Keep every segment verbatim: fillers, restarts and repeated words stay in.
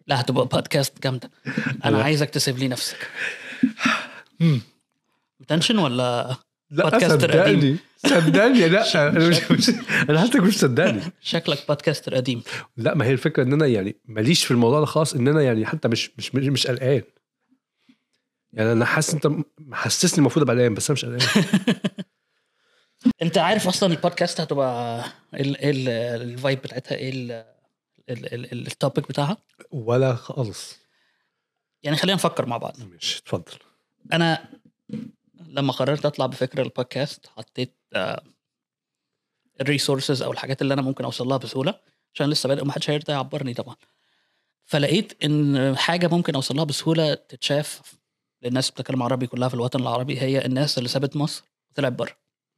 لا هتبقى بودكاست جامده. انا لا. عايزك تسيب لي نفسك. مم. تنشن ولا لا بودكاستر قديم؟ صدقني صدقني لا انا مش مش- انا حاسسك مش صدقني. شكلك بودكاستر قديم. لا ما هي الفكره ان انا يعني ماليش في الموضوع ده خالص، ان انا يعني حتى مش مش مش, مش قلقان. يعني انا حاسس انت محسسني المفروض ابقى قلقان، بس انا مش قلقان. انت عارف اصلا البودكاست هتبقى ال ال الفايب بتاعتها ايه، التوبيك بتاعها؟ ولا خالص. يعني خلينا نفكر مع بعض. مش اتفضل. انا لما قررت اطلع بفكره البودكاست حطيت الريسورسز او الحاجات اللي انا ممكن اوصل لها بسهوله، عشان لسه بادئ ومحدش هيرضى يعبرني طبعا. فلقيت ان حاجه ممكن اوصل لها بسهوله تتشاف للناس بتتكلم عربي كلها في الوطن العربي، هي الناس اللي سابت مصر وطلعت بره.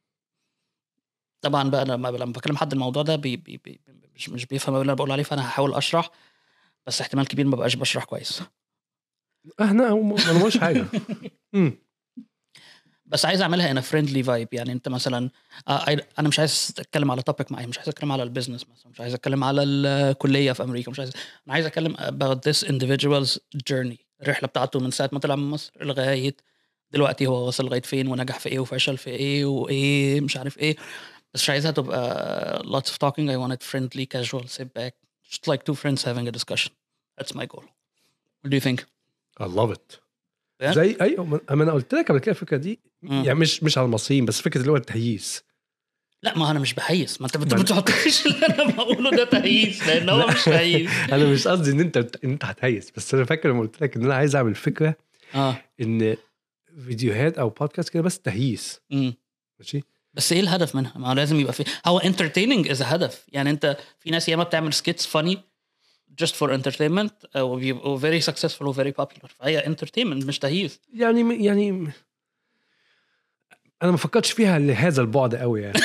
طبعا بقى لما لما بكلم حد الموضوع ده بي بي بي مش مش بيفهم اللي انا بقول عليه، فانا هحاول اشرح، بس احتمال كبير ما بقاش بشرح كويس. احنا ما نقولش حاجه. امم بس عايز اعملها انا فريندلي فايب. يعني انت مثلا آه انا مش عايز اتكلم على توبيك معين، مش عايز اتكلم على البيزنس مثلا، مش عايز اتكلم على الكليه في امريكا، مش عايز. انا عايز اتكلم about this individual's journey، الرحله بتاعته من ساعه ما طلع من مصر لغايه دلوقتي هو وصل لغايه فين، ونجح في ايه وفشل في ايه وايه مش عارف ايه. بس مش عايزها تبقى lots of talking. I want it friendly, casual, sit back, just like two friends having a discussion. That's my goal. What do you think? I love it. Yeah? زي ايوه انا قلت لك قبل كده الفكره دي، مم. يعني مش مش على المصريين بس، فكره اللي هو التهييس. لا ما انا مش بحيس، ما انت ما بتحطش اللي انا بقوله ده تهييس، لان هو مش تهييس. انا مش قصدي ان انت ان انت هتهيس، بس انا فاكر لما قلت لك ان انا عايز اعمل فكره اه ان فيديوهات او بودكاست كده بس تهييس. امم ماشي، بس ايه الهدف منها؟ ما هو لازم يبقى في هو entertaining is a هدف. يعني انت في ناس ياما بتعمل skits funny just for entertainment و very successful و very popular، فهي entertainment مش تهييس. يعني يعني انا ما فكرتش فيها لهذا البعد قوي يعني.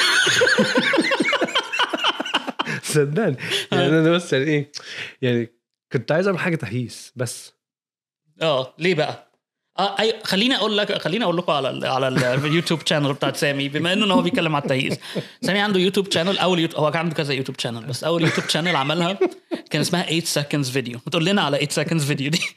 صدقني يعني انا بس يعني ايه، يعني كنت عايز اعمل حاجه تهييس بس. اه ليه بقى؟ اه اي خليني اقول لك خليني اقول لكم على ال على اليوتيوب شانل بتاعت سامي، بما انه هو بيتكلم على التهييس. سامي عنده يوتيوب شانل، اول يوتيوب هو كان عنده كذا يوتيوب شانل، بس اول يوتيوب شانل عملها كان اسمها eight seconds video. ما تقول لنا على eight seconds video دي.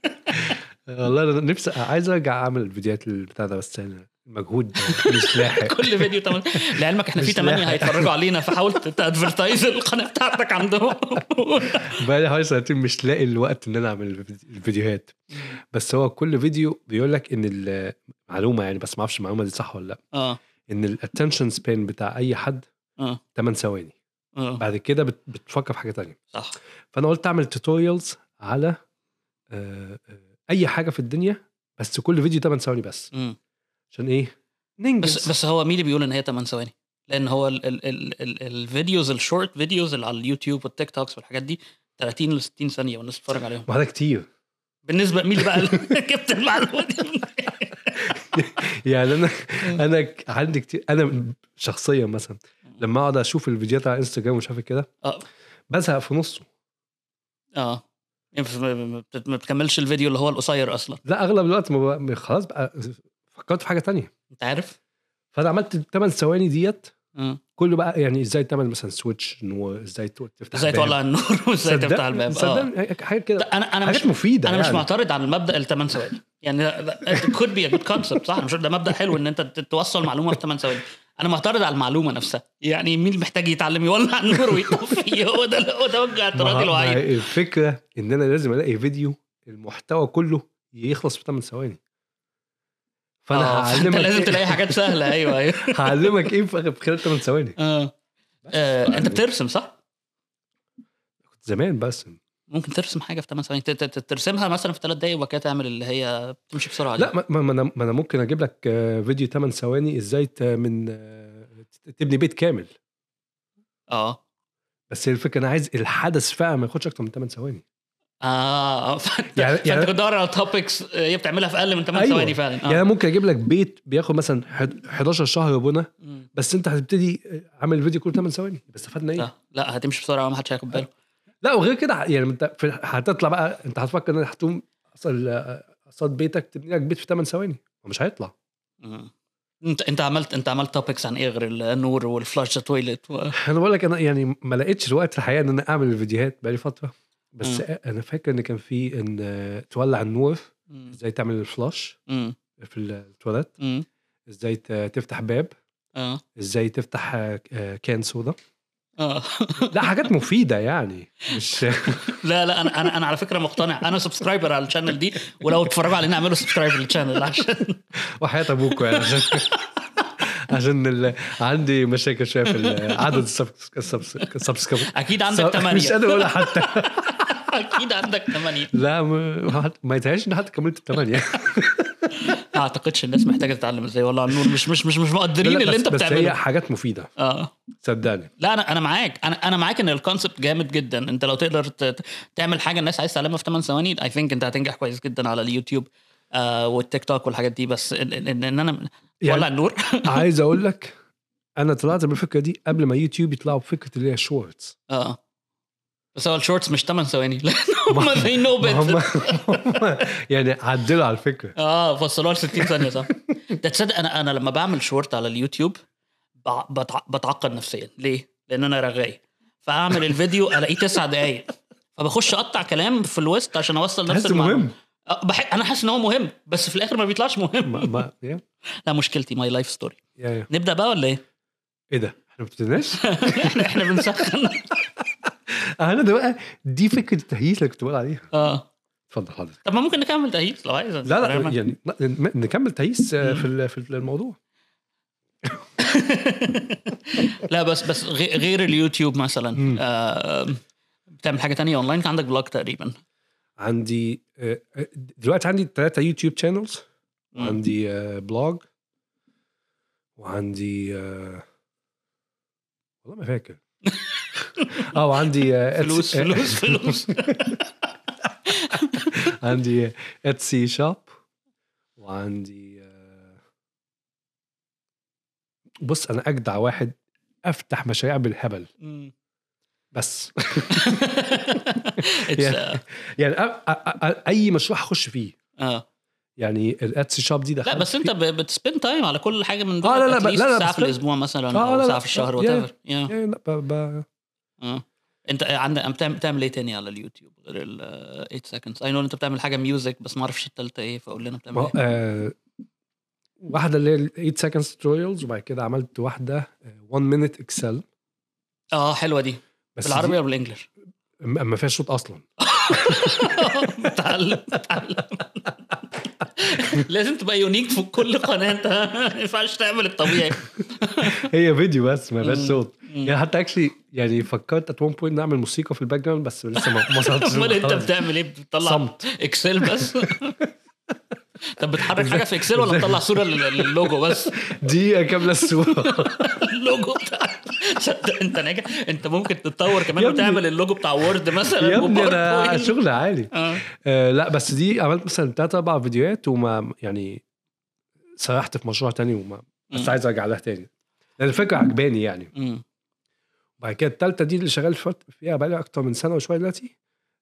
والله انا نفسي عايز ارجع اعمل الفيديوهات البتاع ده، بس يعني المجهود مش لاحق. كل فيديو تمام. لعلمك احنا في ثمانية هيتفرجوا علينا، فحاول تادفرتايز القناه بتاعتك عندهم. بقى لي حوالي سنتين مش لاقي الوقت ان انا اعمل الفيديوهات. بس هو كل فيديو بيقول لك ان المعلومه يعني، بس ما اعرفش المعلومه دي صح ولا لا، اه ان الاتنشن سبان بتاع اي حد اه ثمانية ثواني. اه بعد كده بت- بتفكر في حاجه تانية. صح. فانا قلت اعمل توتوريالز على آه، آه، اي حاجه في الدنيا، بس كل فيديو ثمانية ثواني بس. مم. عشان ايه؟ ننجز. بس بس هو مين اللي بيقول ان هي ثمانية ثواني؟ لان هو ال ال ال ال الفيديوز الشورت فيديوز اللي على اليوتيوب والتيك توكس والحاجات دي ثلاثين ل ستين ثانيه والناس بتتفرج عليهم. ما هذا كتير. بالنسبه مين اللي بقى جبت المعلومه دي؟ يعني انا انا عندي كتير. انا شخصيا مثلا لما اقعد اشوف الفيديوهات على انستغرام ومش عارف كده اه بزهق في نصه. اه يعني ما بت- ما بتكملش الفيديو اللي هو القصير اصلا. لا اغلب الوقت ما بقى- خلاص بقى فكرت في حاجه تانية. انت عارف فانا عملت ثمانية ثواني ديت اه كله بقى، يعني ازاي تعمل مثلا سويتش، وازاي تفتح ازاي تولع النور وازاي تفتح الباب. اه صدقني حاجه كده. انا انا حاجات مش مفيده انا مش يعني. معترض على المبدا الثمان ثواني. يعني it could be a good concept صح، مش ده مبدا حلو ان انت توصل معلومه في ثمان ثواني. انا معترض على المعلومه نفسها. يعني مين محتاج يتعلم يولع النور ويطفي؟ هو ده هو ده وجه اعتراضي الوحيد. الفكره ان انا لازم الاقي فيديو المحتوى كله يخلص في ثمانية ثواني. فانا اه هعلمك انت لازم إيه؟ تلاقي حاجات سهله. ايوه ايوه هعلمك ايه في خلال ثمانية ثواني. اه, آه. انت بترسم صح؟ كنت زمان بس ممكن ترسم حاجه في ثمان ثواني، ت- ت- ترسمها مثلا في ثلاث دقايق وبعد كده تعمل اللي هي تمشي بسرعه دي. لا ما, ما, انا ما انا ممكن اجيب لك آه، فيديو ثمانية ثواني ازاي ت- من آه، تبني بيت كامل. اه بس الفكره انا عايز الحدث فعلا ما ياخدش اكتر من ثمانية ثواني. اه فانت يعني- فانت يعني- كنت بتدور على توبكس هي بتعملها في اقل من ثمان أيوة. ثواني فعلا. اه يعني أنا ممكن اجيب لك بيت بياخد مثلا حداشر شهر بنا، مم. بس انت هتبتدي عامل الفيديو كله ثمانية ثواني بس استفدنا ايه؟ صح. لا هتمشي بسرعه ما حدش هياخد باله. لا وغير كده يعني انت في- هتطلع بقى انت هتفكر ان هتقوم اصل قصاد بيتك تبني لك بيت في ثمانية ثواني ومش هيطلع. مم. انت انت عملت انت عملت توبكس عن ايه غير النور والفلاش تويلت و... انا بقول لك انا يعني ما لقيتش الوقت الحقيقه ان انا اعمل الفيديوهات بقالي فتره، بس مم. انا فاكر ان كان في ان آه، تولع النور، مم. ازاي تعمل الفلاش مم. في التواليت، مم. ازاي ت- تفتح باب، اه ازاي تفتح آه، آه، كان صودا. اه لا حاجات مفيده يعني مش لا لا انا انا انا على فكره مقتنع، انا سبسكرايبر على الشانل دي، ولو اتفرجوا علينا اعملوا سبسكرايب للشانل عشان وحياة ابوكوا يعني عشان عشان ال... عندي مشاكل شويه في ال- عدد السبسكرايب. اكيد عندك تمانية. مش قادر اقولها حتى. اكيد عندك ثمانية. لا ما, ما يتهيألش ان حد كملت الثمانيه. ما اعتقدش الناس محتاجه تتعلم ازاي، والله النور مش مش مش مش لا مقدرين لا اللي بس, انت بس هي بتعمله. حاجات مفيده اه صدقني. لا انا انا معاك، انا انا معاك ان الكونسبت جامد جدا. انت لو تقدر ت- ت- تعمل حاجه الناس عايز تعلمها في ثمانية ثواني اي ثينك انت هتنجح كويس جدا على اليوتيوب آه والتيك توك والحاجات دي. بس ان, إن, إن انا يعني ولع النور عايز اقول لك انا طلعت بالفكره دي قبل ما يوتيوب يطلعوا بفكره اللي هي شورتس. اه بس هو الشورتس مش ثمانية ثواني لان هم they know ما هم better. يعني عدلوا على الفكره. اه فصلوها ل ستين ثانيه صح. ده تصدق انا انا لما بعمل شورت على اليوتيوب بع- بتع- بتعقد نفسيا. ليه؟ لان انا رغاي، فاعمل الفيديو الاقيه تسع دقايق فبخش اقطع كلام في الوسط عشان اوصل نفس تحس المعلومه. مهم. أه، بح... انا حاسس ان هو مهم بس في الاخر ما بيطلعش مهم. ما ما يا لا مشكلتي ماي لايف ستوري. يا نبدا بقى ولا ايه؟ ايه ده احنا ما بتناش. احنا احنا بنسخن. انا ده بقى دي فكره التهييس اللي كنت بقول عليها. اه اتفضل حضرتك. طب ما ممكن نكمل تهيئ لو عايز. لا لا يعني لا، نكمل تهييس آه، في ال- في الموضوع. لا بس بس غي- غير اليوتيوب مثلا آه بتعمل حاجه تانية اونلاين؟ كان عندك بلوج تقريبا. عندي آه، دلوقتي عندي ثلاثة يوتيوب شانلز، وعندي آه، بلوج، وعندي آه، والله ما فاكر. اه وعندي آه، فلوس إتسي- فلوس فلوس. عندي اتسي شوب، وعندي آه، بص انا اجدع واحد افتح مشاريع بالهبل بس. It's, يعني آه، يعني أ- أ- أ- اي مشروع هخش فيه. اه يعني الاتسي شوب دي لا دخلت بس انت فيه. بتسبند تايم على كل حاجه من دول. آه، لا، لا، لا، لا، ساعه بس في الاسبوع مثلا آه، او لا، ساعه لا، في الشهر يا- وات ايفر. يعني لا ب... ب... اه انت عندك بتعمل بتعمل ايه تاني على اليوتيوب غير ال ثمانية seconds؟ اي نو انت بتعمل حاجه ميوزك بس ما اعرفش الثالثه ايه، فقول لنا بتعمل ما هو، ايه. آه، واحدة اللي هي ال ثمانية seconds tutorials، وبعد كده عملت واحدة one minute excel. اه حلوه دي. بس بالعربي دي ولا بالانجلش؟ ما ما فيهاش صوت اصلا. بتعلم بتعلم. لازم تبقى يونيك في كل قناه، انت ما ينفعش تعمل الطبيعي. هي فيديو بس ما فيهاش مم. صوت. مم. يعني حتى اكشلي يعني فكرت ات وان بوينت نعمل موسيقى في الباك جراوند، بس لسه ما ما وصلتش. امال انت بتعمل ايه؟ بتطلع صمت. اكسل بس؟ طب بتحرك حاجه في اكسل ولا بتطلع صوره لل- للوجو بس؟ دقيقة كاملة الصورة. اللوجو بتاع صدق انت ناجح. انت ممكن تتطور كمان يا ابني- وتعمل اللوجو بتاع وورد مثلا. يا ابني انا وباوربوينت. شغل عالي. اه آه لا بس دي عملت مثلا ثلاث اربع فيديوهات وما يعني سرحت في مشروع تاني وما بس مم. عايز ارجع لها تاني لان الفكره عجباني يعني. مم. وبعد كده الثالثه دي اللي شغال فت- فيها بقالي اكتر من سنه وشويه دلوقتي.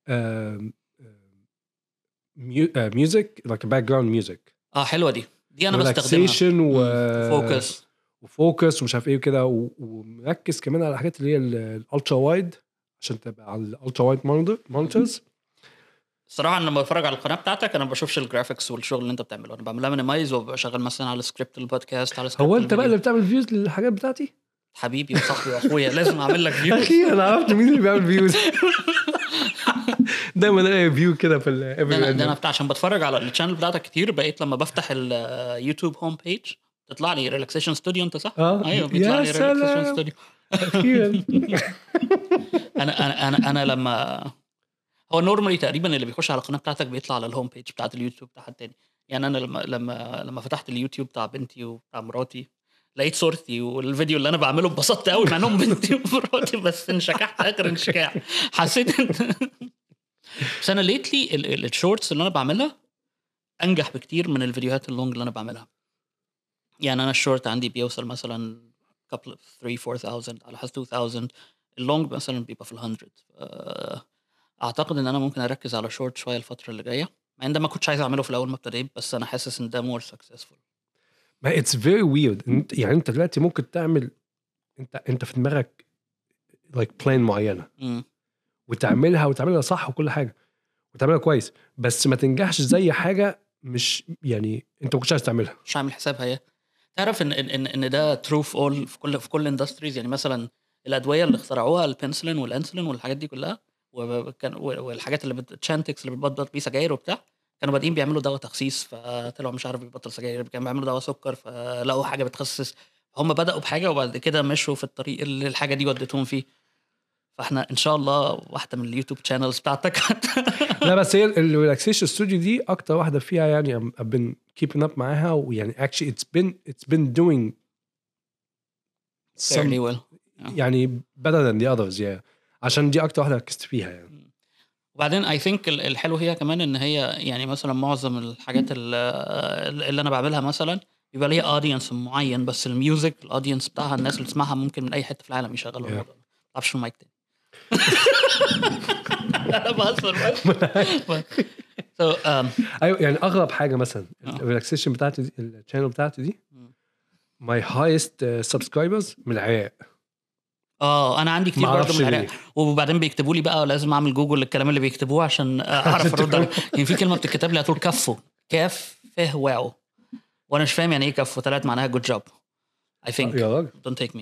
ميوزك لايك باك جراوند ميوزك، اه حلوه دي دي انا بستخدمها. ريلاكسيشن و فوكس. وفوكس ومش عارف ايه كده، و- ومركز كمان على الحاجات اللي هي الالترا وايد عشان تبقى على الالترا وايد مونيتورز. الصراحه انا لما بتفرج على القناه بتاعتك انا ما بشوفش الجرافيكس والشغل اللي انت بتعمله. انا بعملها مينيمايز وببقى شغال مثلا على سكريبت البودكاست، على سكريبت هو انت بقى الفيديو. اللي بتعمل فيوز للحاجات بتاعتي؟ حبيبي وصاحبي واخويا لازم اعمل لك فيو. اخي انا عرفت مين اللي بيعمل فيوز. دايما الاقي فيو كده في ده انا ده انا ال بتاع عشان بتفرج على الشانل بتاعتك كتير، بقيت لما بفتح اليوتيوب هوم بيج تطلع لي ريلاكسيشن ستوديو. انت صح؟ اه ايوه بيطلع يا لي ريلاكسيشن سلام ستوديو. اخيرا. انا انا انا انا لما هو نورمالي تقريبا اللي بيخش على القناه بتاعتك بيطلع على الهوم بيج بتاعت اليوتيوب بتاع حد تاني. يعني انا لما لما لما فتحت اليوتيوب بتاع بنتي وبتاع مراتي لقيت صورتي والفيديو اللي انا بعمله اتبسطت قوي مع انهم بنتي ومراتي، بس انشكحت اخر انشكاح. حسيت ان بس انا ليتلي الشورتس اللي انا بعملها انجح بكتير من الفيديوهات اللونج اللي انا بعملها. يعني انا الشورت عندي بيوصل مثلا couple of three four thousand على حسب two thousand. اللونج مثلا بيبقى في الهندرد. اعتقد ان انا ممكن اركز على شورت شويه الفتره اللي جايه، مع ان ده ما كنتش عايز اعمله في الاول ما ابتديت، بس انا حاسس ان ده مور سكسسفول. ما اتس فيري ويرد. يعني انت دلوقتي ممكن تعمل انت انت في دماغك لايك بلان معينه، امم وتعملها وتعملها صح وكل حاجه وتعملها كويس، بس ما تنجحش زي حاجه مش يعني انت ما كنتش عايز تعملها. مش عامل حسابها. هي تعرف ان ان ان ده ترو في اول في كل في كل اندستريز. يعني مثلا الادويه اللي اخترعوها البنسلين والانسولين والحاجات دي كلها، وكان والحاجات اللي بتشانتكس اللي بتبطل بيه سجاير وبتاع، كانوا بادئين بيعملوا دواء تخسيس فطلعوا مش عارف بيبطل سجاير، كانوا بيعملوا دواء سكر فلقوا حاجه بتخسس. هم بداوا بحاجه وبعد كده مشوا في الطريق اللي الحاجه دي ودتهم فيه. فاحنا ان شاء الله واحده من اليوتيوب شانلز بتاعتك. لا بس هي الريلاكسيشن ستوديو دي اكتر واحده فيها يعني I've been keeping up معاها، ويعني actually it's been it's been doing some fairly well. يعني better than the others yeah. عشان دي اكتر واحده ركزت فيها يعني. وبعدين اي ثينك الحلو هي كمان ان هي يعني مثلا معظم الحاجات اللي, اللي انا بعملها مثلا بيبقى ليها اودينس معين، بس الميوزك الاودينس بتاعها الناس اللي تسمعها ممكن من اي حته في العالم يشغلوا الموضوع ده. ما تعرفش في المايك تاني. انا بهزر بس. so um ايوه يعني اغرب حاجه مثلا الريلاكسيشن بتاعتي دي الشانل بتاعتي دي my highest uh, subscribers من العراق. اه انا عندي كتير برضه من العراق، وبعدين بيكتبوا لي بقى لازم اعمل جوجل للكلام اللي بيكتبوه عشان اعرف ارد. يعني في كلمه بتتكتب لي هتقول كفو كاف فه واو، وانا مش فاهم يعني ايه كفو، طلعت معناها good job I think. يا راجل don't take me.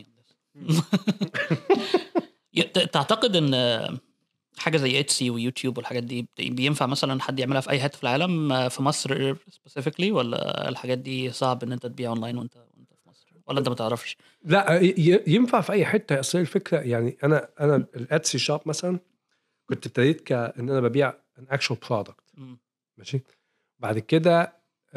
تعتقد ان حاجه زي اتسي ويوتيوب والحاجات دي بينفع مثلا حد يعملها في اي حته في العالم في مصر specifically، ولا الحاجات دي صعب ان انت تبيع اونلاين وانت وانت في مصر، ولا انت ما تعرفش؟ لا ينفع في اي حته. اصل الفكره يعني انا انا الاتسي شوب مثلا كنت ابتديت كان انا ببيع an actual product ماشي. بعد كده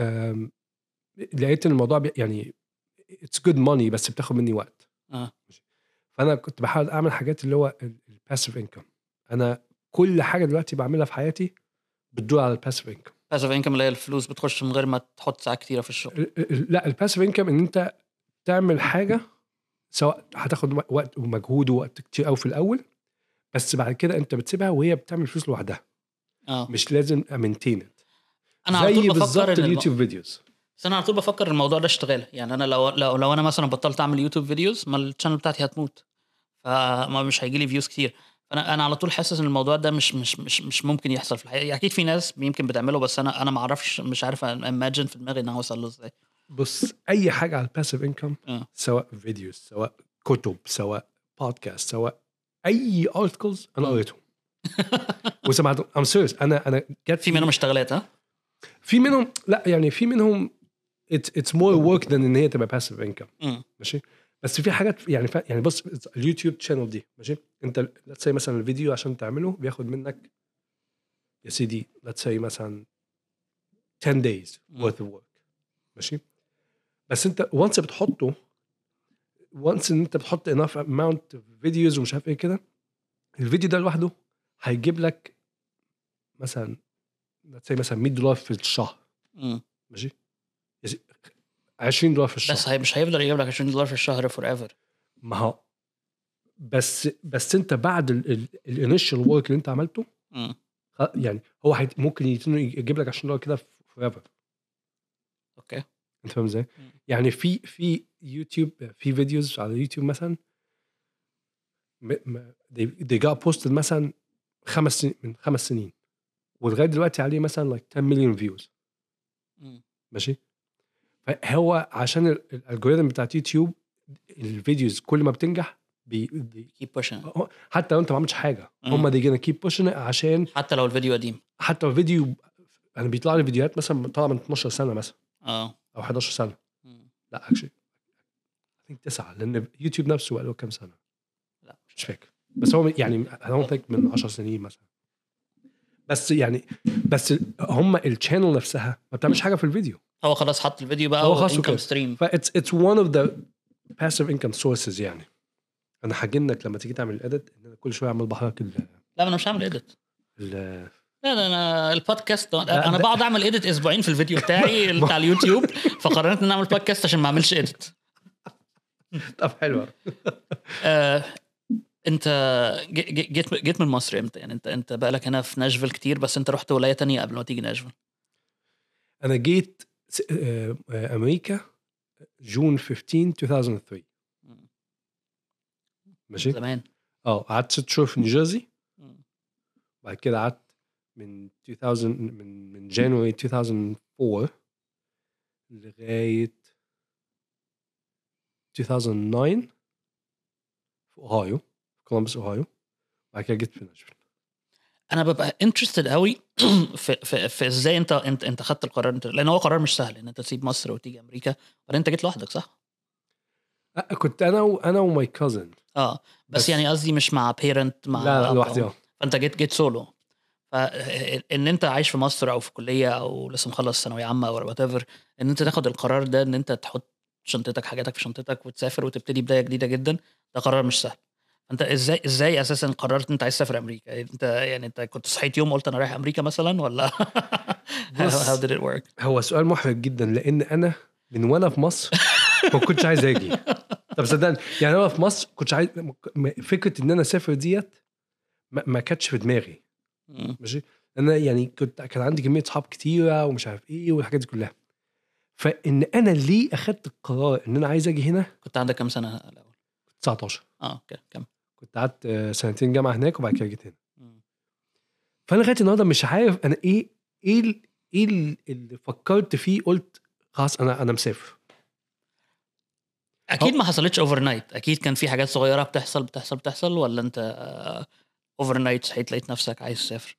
لقيت الموضوع يعني it's good money بس بتاخد مني وقت اه فانا كنت بحاول اعمل حاجات اللي هو الباسيف انكم. انا كل حاجه دلوقتي بعملها في حياتي بتدور على الباسيف انكم. باسيف انكم اللي هي الفلوس بتخش من غير ما تحط ساعات كتيره في الشغل. لا الباسيف انكم ان انت تعمل حاجه سواء هتاخد وقت ومجهود ووقت كتير قوي في الاول، بس بعد كده انت بتسيبها وهي بتعمل فلوس لوحدها. اه مش لازم امينتين. انا على طول بفكر ان اليوتيوب فيديوز، بس انا على طول بفكر الموضوع ده اشتغال. يعني انا لو لو لو انا مثلا بطلت اعمل يوتيوب فيديوز ما الشانل بتاعتي هتموت، فما مش هيجي لي فيوز كتير. فانا انا على طول حاسس ان الموضوع ده مش مش مش مش ممكن يحصل في الحقيقه. اكيد في ناس يمكن بتعمله بس انا انا ما اعرفش، مش عارف اماجن في دماغي ان هو يوصل له ازاي. بص اي حاجه على الباسيف انكم أه. سواء فيديوز سواء كتب سواء بودكاست سواء اي ارتكلز انا قريتهم وسمعتهم. ام سيريس انا انا جت في منهم اشتغلت. ها في منهم لا يعني في منهم it's it's more work than ان هي تبقى passive income ماشي. بس في حاجات يعني ف... يعني بص اليوتيوب شانل دي ماشي. انت let's say مثلا الفيديو عشان تعمله بياخد منك يا سيدي let's say مثلا ten days worth of work ماشي. بس انت once بتحطه once ان انت بتحط enough amount of videos ومش عارف ايه كده، الفيديو ده لوحده هيجيب لك مثلا let's say مثلا مية دولار في الشهر م. ماشي. عشرين دولار في الشهر بس هي مش هيفضل يجيب لك عشرين دولار في الشهر forever. ما هو بس بس انت بعد الانيشال ورك اللي انت عملته م. يعني هو حيت ممكن يجيب لك عشرين دولار كده forever. اوكي انت فاهم ازاي؟ يعني في في يوتيوب في فيديوز على يوتيوب مثلا they got posted مثلا خمس سنين من خمس سنين ولغايه دلوقتي عليه مثلا like ten million views ماشي. فهو عشان الالجوريثم بتاعت يوتيوب الفيديوز كل ما بتنجح بي, بي keep pushing. حتى لو انت ما عملتش حاجه هم دي جينا keep pushing عشان حتى لو الفيديو قديم. حتى لو الفيديو انا بيطلع لي فيديوهات مثلا طالعه من اتناشر سنه مثلا اه او حداشر سنه. م. لا اكشلي I think تسعة لان يوتيوب نفسه بقى له كام سنه لا مش فاكر بس هو يعني I don't think من عشر سنين مثلا. بس يعني بس هم الشانل نفسها ما بتعملش حاجه في الفيديو. هو خلاص حط الفيديو بقى هو خلاص انكم ستريم. ف it's it's one of the passive income sources. يعني انا حاجنك لما تيجي تعمل الاديت ان انا كل شويه اعمل بحرك ال لا انا مش هعمل اديت. ال لا انا البودكاست انا بقعد اعمل اديت اسبوعين في الفيديو بتاعي بتاع اليوتيوب، فقررت ان اعمل بودكاست عشان ما اعملش اديت. طب حلوه. آه، انت جيت جيت من مصر امتى؟ يعني انت انت بقى لك هنا في ناشفيل كتير بس انت رحت ولايه تانية قبل ما تيجي ناشفيل. انا جيت امريكا جون خمستاشر ألفين وثلاثة ماشي زمان. اه قعدت ست شهور في نيوجيرسي بعد كده قعدت من ألفين من من جانوري ألفين وأربعة لغايه ألفين وتسعة في اوهايو، كولومبوس اوهايو. بعد كده جيت في ناشفيل. انا ببقى انترستد قوي في في, في ازاي انت انت انت خدت القرار انت، لان هو قرار مش سهل ان انت تسيب مصر وتيجي امريكا، ولا انت جيت لوحدك صح؟ أه، كنت انا وانا وماي كازن. اه بس, بس- بس يعني قصدي مش مع بيرنت، مع لا لا أب لوحدي أو- اه. فانت جيت جيت سولو. فان انت عايش في مصر او في كليه او لسه مخلص ثانويه عامه او وات ايفر، ان انت تاخد القرار ده ان انت تحط شنطتك حاجاتك في شنطتك وتسافر وتبتدي بدايه جديده جدا، ده قرار مش سهل. انت ازاي ازاي اساسا قررت انت عايز تسافر امريكا؟ انت يعني انت كنت صحيت يوم قلت انا رايح امريكا مثلا، ولا how, بص، how did it work؟ هو سؤال محرج جدا لان انا من وانا في مصر ما كنتش عايز اجي. طب صدقني يعني انا في مصر كنتش عايز، فكره ان انا اسافر ديت ما, ما كانتش في دماغي. مم. ماشي. انا يعني كنت كان عندي كميه صحاب كتيره ومش عارف ايه والحاجات دي كلها. فان انا ليه اخدت القرار ان انا عايز اجي هنا؟ كنت عندك كام سنه الاول؟ تسعتاشر. اه اوكي كم؟ كنت قعدت آه، سنتين جامعه هناك وبعد كده جيت هنا. مم. فانا لغايه النهارده مش عارف انا ايه ايه ال- ايه ال- اللي فكرت فيه قلت خلاص انا انا مسافر. اكيد أو- ما حصلتش اوفر نايت، اكيد كان في حاجات صغيره بتحصل بتحصل بتحصل ولا انت اوفر نايت صحيت لقيت نفسك عايز تسافر؟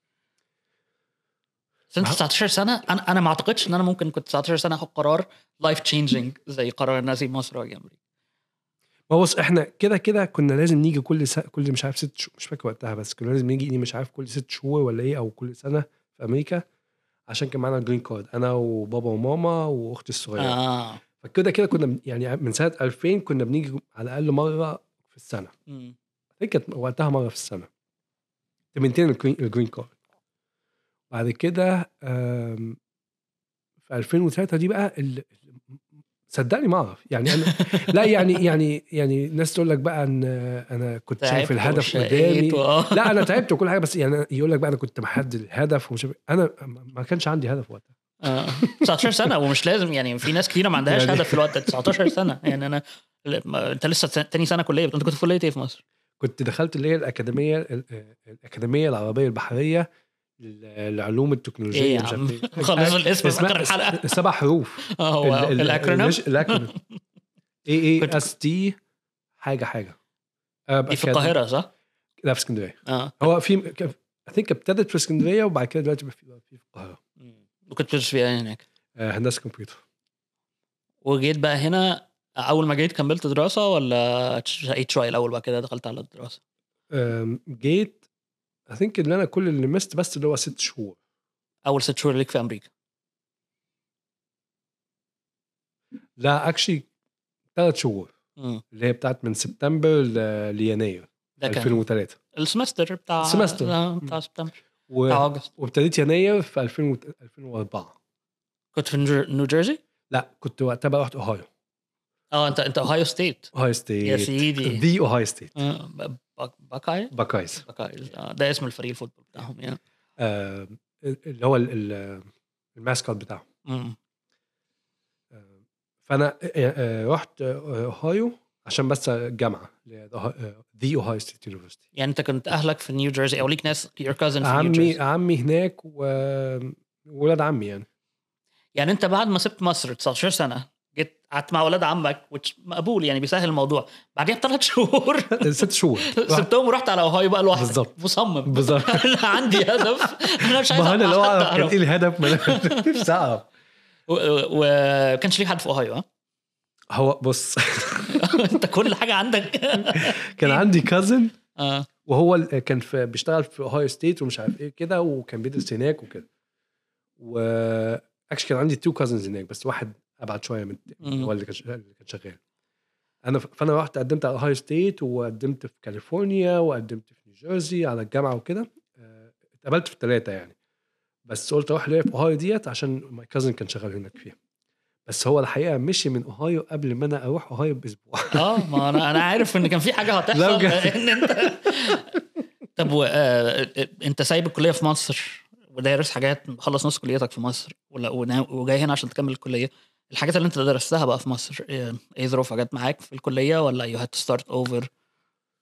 بس انت ما- تسعتاشر سنه، انا انا ما اعتقدش ان انا ممكن كنت تسعتاشر سنه اخد قرار لايف تشينجينج زي قرار ان اسيب مصر واجي امريكا. ما بص، احنا كده كده كنا لازم نيجي كل سنة، كل مش عارف ست شهور، مش فاكر وقتها، بس كنا لازم نيجي مش عارف كل ست شهور ولا ايه او كل سنه في امريكا عشان كان معانا جرين كارد انا وبابا وماما واختي الصغيره. اه فكده كده كنا بن- يعني من سنه ألفين كنا بنيجي على الاقل مره في السنه. مم. هي كانت وقتها مره في السنه تمنتين الجرين الجرين كارد. بعد كده آم، في ألفين وثلاثة دي بقى ال- صدقني ما اعرف يعني انا لا يعني يعني يعني ناس تقول لك بقى ان انا كنت شايف تعبت الهدف وشقيت قدامي. و... لا انا تعبت وكل حاجه، بس يعني يقول لك بقى انا كنت محدد الهدف ومش عارف- انا ما كانش عندي هدف وقتها. آه. تسعتاشر سنه ومش لازم، يعني في ناس كتيره ما عندهاش يعني هدف في الوقت ده. تسعتاشر سنه يعني انا ما- انت لسه ت- تاني سنه كليه، انت كنت في كليه ايه في مصر؟ كنت دخلت اللي هي الاكاديميه ال- الاكاديميه العربيه البحريه للعلوم التكنولوجيه ايه يا مش عم عارف ايه. خلص الاسم في اسمها اخر الحلقه. سبع حروف. اه واو الاكرونيم الاكرونيم اي اي كنت اس تي حاجه حاجه. آه، دي في كان- القاهره صح؟ لا في اسكندريه. اه هو في اي ثينك ابتدت في اسكندريه وبعد كده دلوقتي في في القاهره. مم. وكنت بتدرس فيها هناك، آه، هندسه كمبيوتر. وجيت بقى هنا اول ما جيت كملت دراسه ولا شقيت شويه الاول بعد كده دخلت على الدراسه؟ آم، جيت اي ثينك ان انا كل اللي مست بس اللي هو ست شهور. اول ست شهور ليك في امريكا؟ لا اكشلي ثلاث شهور مم. اللي هي بتاعت من سبتمبر ل- ليناير ده كان ألفين وثلاثة. السمستر بتاع السمستر. آه، بتاع سبتمبر و... بتاع اوجست. وابتديت يناير في ألفين و- ألفين وأربعة. كنت في نيو- نيو جيرسي؟ لا كنت وقتها بقى رحت اوهايو. اه انت انت اوهايو ستيت اوهايو يا ستيت. سيدي. ذا اوهايو ستيت. آه، ب- باك- باكاي باكايز. باكايز آه، ده اسم الفريق الفوتبول بتاعهم يعني. آه، اللي هو ال- ال- الماسكوت بتاعه. مم. آه، فانا آه، آه، رحت آه، اوهايو عشان بس الجامعه ذا اوهايو ستيت يونيفرستي. يعني انت كنت اهلك في نيو جيرسي او ليك ناس your cousin في نيو عمي جيرسي؟ عمي هناك وولاد عمي يعني. يعني انت بعد ما سبت مصر تسعتاشر سنه جيت قعدت مع ولاد عمك which مقبول يعني بيسهل الموضوع، بعديها بثلاث شهور ست شهور رحت- سبتهم ورحت على اوهايو بقى لوحدك بالظبط. مصمم بالظبط. انا عندي هدف انا مش عايز ما انا لو أبقى اعرف حد كان ايه أعرف. الهدف ما انا نفسي اعرف. وكانش ليك حد في اوهايو ها؟ هو بص انت كل حاجه عندك. كان عندي كازن اه وهو ال- كان في بيشتغل في اوهايو ستيت ومش عارف ايه كده وكان بيدرس هناك وكده. و اكشلي كان عندي تو كازنز هناك بس واحد ابعد شويه من مم. هو اللي كان شغال- اللي كان شغال. انا ف- فانا رحت قدمت على اوهايو ستيت وقدمت في كاليفورنيا وقدمت في نيوجيرسي على الجامعه وكده. آه، اتقبلت في الثلاثه يعني، بس قلت اروح ليه في اوهايو ديت عشان ماي كازن كان شغال هناك فيها. بس هو الحقيقه مشي من اوهايو قبل ما انا اروح اوهايو باسبوع. اه ما انا انا عارف ان كان في حاجه لا هتحصل بجد. ان انت. طب و... آه... انت سايب الكليه في مصر ودارس حاجات، مخلص نص كليتك في مصر ولا ونا- وجاي هنا عشان تكمل الكليه، الحاجات اللي انت درستها بقى في مصر ايه إيه ظروفها؟ جت معاك في الكليه ولا you had to start over؟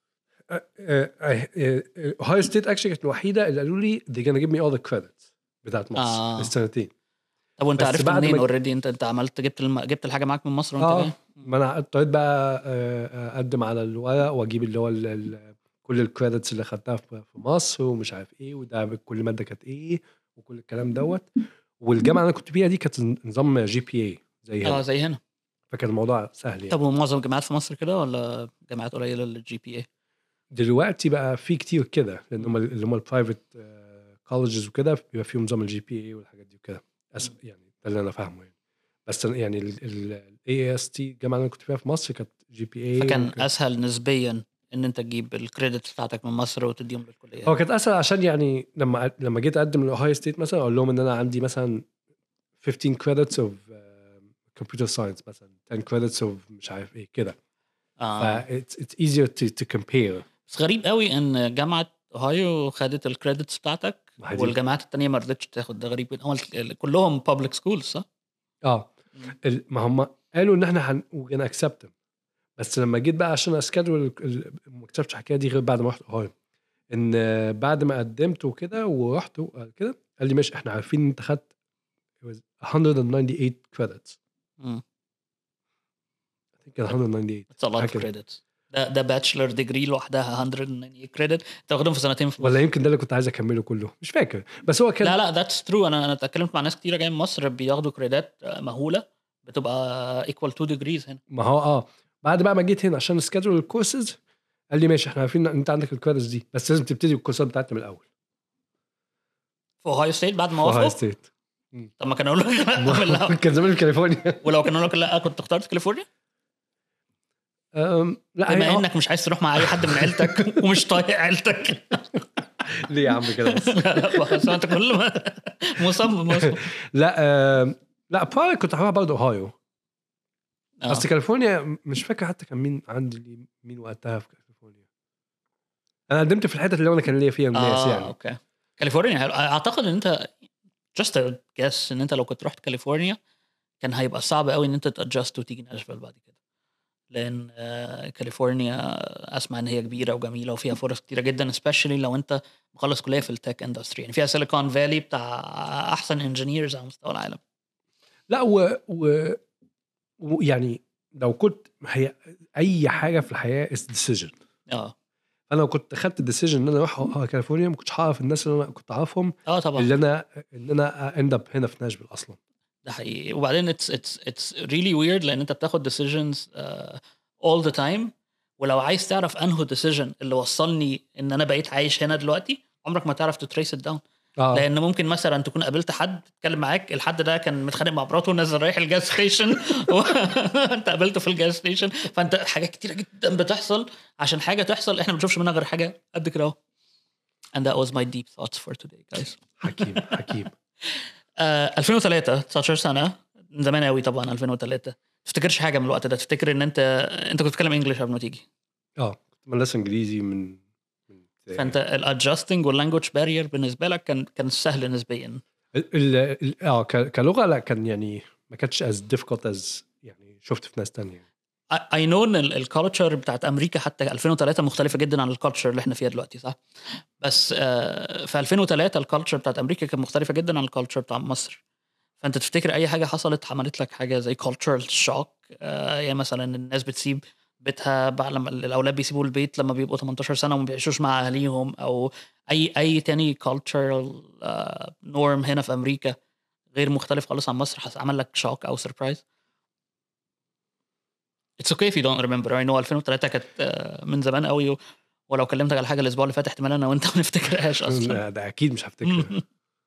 اوهايو ستيت اكشلي كانت الوحيده اللي قالوا لي they're gonna give me all the credits بتاعت مصر آه. السنتين. طب وانت بس عرفت بعد منين ما- اوريدي؟ انت انت عملت جبت الم... جبت الحاجه معاك من مصر وانت اه جاي؟ ما انا اضطريت بقى آه، اقدم على الورق واجيب اللي هو ال- ال- كل الكريدتس اللي خدتها في في مصر ومش عارف ايه، وده كل ماده كانت ايه وكل الكلام دوت. والجامعه اللي انا كنت فيها دي كانت نظام جي بي اي زي اه هنا، زي هنا. فكان الموضوع سهل يعني. طب ومعظم الجامعات في مصر كده ولا جامعات قليله للجي بي اي؟ دلوقتي بقى في كتير كده لان هم اللي هم البرايفت كولجز وكده بيبقى فيهم نظام الجي بي اي والحاجات دي وكده. أس- يعني ده اللي انا فاهمه يعني. بس أنا يعني الاي اس تي الجامعه اللي انا كنت فيها في مصر كانت جي بي اي. فكان اسهل نسبيا ان انت تجيب الكريدت بتاعتك من مصر وتديهم للكليه. هو كانت اسهل عشان يعني لما لما جيت اقدم لاوهايو ستيت مثلا اقول لهم ان انا عندي مثلا fifteen credits of uh, computer science مثلا ten credits of مش عارف ايه كده. اه ف it's, it's easier to, to compare. بس غريب قوي ان جامعه اوهايو خدت الكريدتس بتاعتك ما هي دي. والجامعات التانية ما رضتش تاخد. ده غريب. هم كلهم بابليك سكولز صح؟ اه ال- ما هم قالوا ان احنا هن we're gonna accept them. بس لما جيت بقى عشان اسكادول ما اكتشفتش الحكايه دي غير بعد ما رحت اوهايو، ان بعد ما قدمت وكده ورحت كده قال لي ماشي احنا عارفين ان انت خدت it was one ninety-eight credits. مم. I think كان one ninety-eight. It's a lot of حاجة كده. credits. ده ده باتشلر ديجري لوحدها one ninety-eight كريدت تاخدهم في سنتين في مصر. ولا يمكن ده اللي كنت عايز اكمله كله مش فاكر، بس هو كان لا لا that's true. انا انا اتكلمت مع ناس كتيره جايه من مصر بياخدوا كريدات مهوله بتبقى equal two degrees هنا. ما هو اه بعد بقى ما جيت هنا عشان اسكادول الكورسز قال لي ماشي احنا عارفين ان انت عندك الكريدتس دي بس لازم تبتدي الكورسات بتاعتنا من الاول في اوهايو ستيت بعد ما في اوهايو وافقوا. ستيت. طب ما كانوا يقولوا لك لا من الأول. كان زمان في كاليفورنيا. ولو كانوا يقولوا لك لا كنت اخترت كاليفورنيا. أم، لا بما هي انك مش عايز تروح مع اي حد من عيلتك ومش طايق عيلتك. ليه يا عم كده بس؟ لا بس انت كل ما مصمم مصمم. لا أم، لا باي كنت هروح برضه اوهايو. آه. بس كاليفورنيا مش فاكر حتى كان مين عندي مين وقتها في كاليفورنيا. انا قدمت في الحتت اللي انا كان ليا فيها الناس اه يعني. اوكي. كاليفورنيا حلو. اعتقد ان انت just a guess ان انت لو كنت رحت كاليفورنيا كان هيبقى صعب قوي ان انت تادجست وتيجي ناشفيل بعد كده. لان آه، كاليفورنيا اسمع ان هي كبيره وجميله وفيها فرص كتيره جدا especially لو انت مخلص كليه في التك اندستري. يعني فيها سيليكون فالي بتاع احسن انجينيرز على مستوى العالم. لا و... و... ويعني لو كنت هي اي حاجه في الحياه is decision. اه انا لو كنت خدت الديسيجن ان انا اروح كاليفورنيا ما كنتش هعرف الناس اللي انا كنت اعرفهم اه طبعا اللي انا ان انا اند اب هنا في ناشفيل اصلا. ده حقيقي. وبعدين it's it's it's really weird لان انت بتاخد decisions uh, all the time. ولو عايز تعرف انه decision اللي وصلني ان انا بقيت عايش هنا دلوقتي عمرك ما تعرف تتريس ات داون. آه. لان ممكن مثلا تكون قابلت حد اتكلم معاك الحد ده كان متخانق مع مراته ونازل رايح الجاز ستيشن وانت قابلته في الجاز ستيشن. فانت حاجات كتيره جدا بتحصل عشان حاجه تحصل احنا ما بنشوفش منها غير حاجه قد كده اهو. and that was my deep thoughts for today guys. حكيم حكيم. آه، ألفين وثلاثة تسعتاشر سنه من زمان قوي طبعا. ألفين وثلاثة تفتكرش حاجه من الوقت ده؟ تفتكر ان انت انت كنت بتتكلم انجلش قبل ما تيجي اه كنت مدرسه انجليزي من من فانت الادجستنج واللانجوج بارير بالنسبه لك كان كان سهل نسبيا. ال- ال- ال- اه ك- كلغه لا كان يعني ما كانتش as difficult as يعني شفت في ناس تانية. اي نو ان الكالتشر بتاعت امريكا حتى ألفين وثلاثة مختلفه جدا عن الكالتشر اللي احنا فيها دلوقتي صح. بس آه، في ألفين وثلاثة الكالتشر بتاعت امريكا كانت مختلفه جدا عن الكالتشر بتاع مصر. فانت تفتكر اي حاجه حصلت عملت لك حاجه زي cultural shock؟ آه، يعني مثلا الناس بتسيب بيتها بعد لما الاولاد بيسيبوا البيت لما بيبقوا تمنتاشر سنه وما بيعيشوش مع اهاليهم او اي اي تاني cultural آه، norm هنا في امريكا غير مختلف خالص عن مصر حس عمل لك شوك او سربرايز؟ It's okay if you don't remember. I know ألفين وثلاثة كانت آه، من زمان قوي و- ولو كلمتك على حاجه الاسبوع اللي فات احتمال انا وانت ما نفتكرهاش اصلا. لا، ده اكيد مش هفتكر.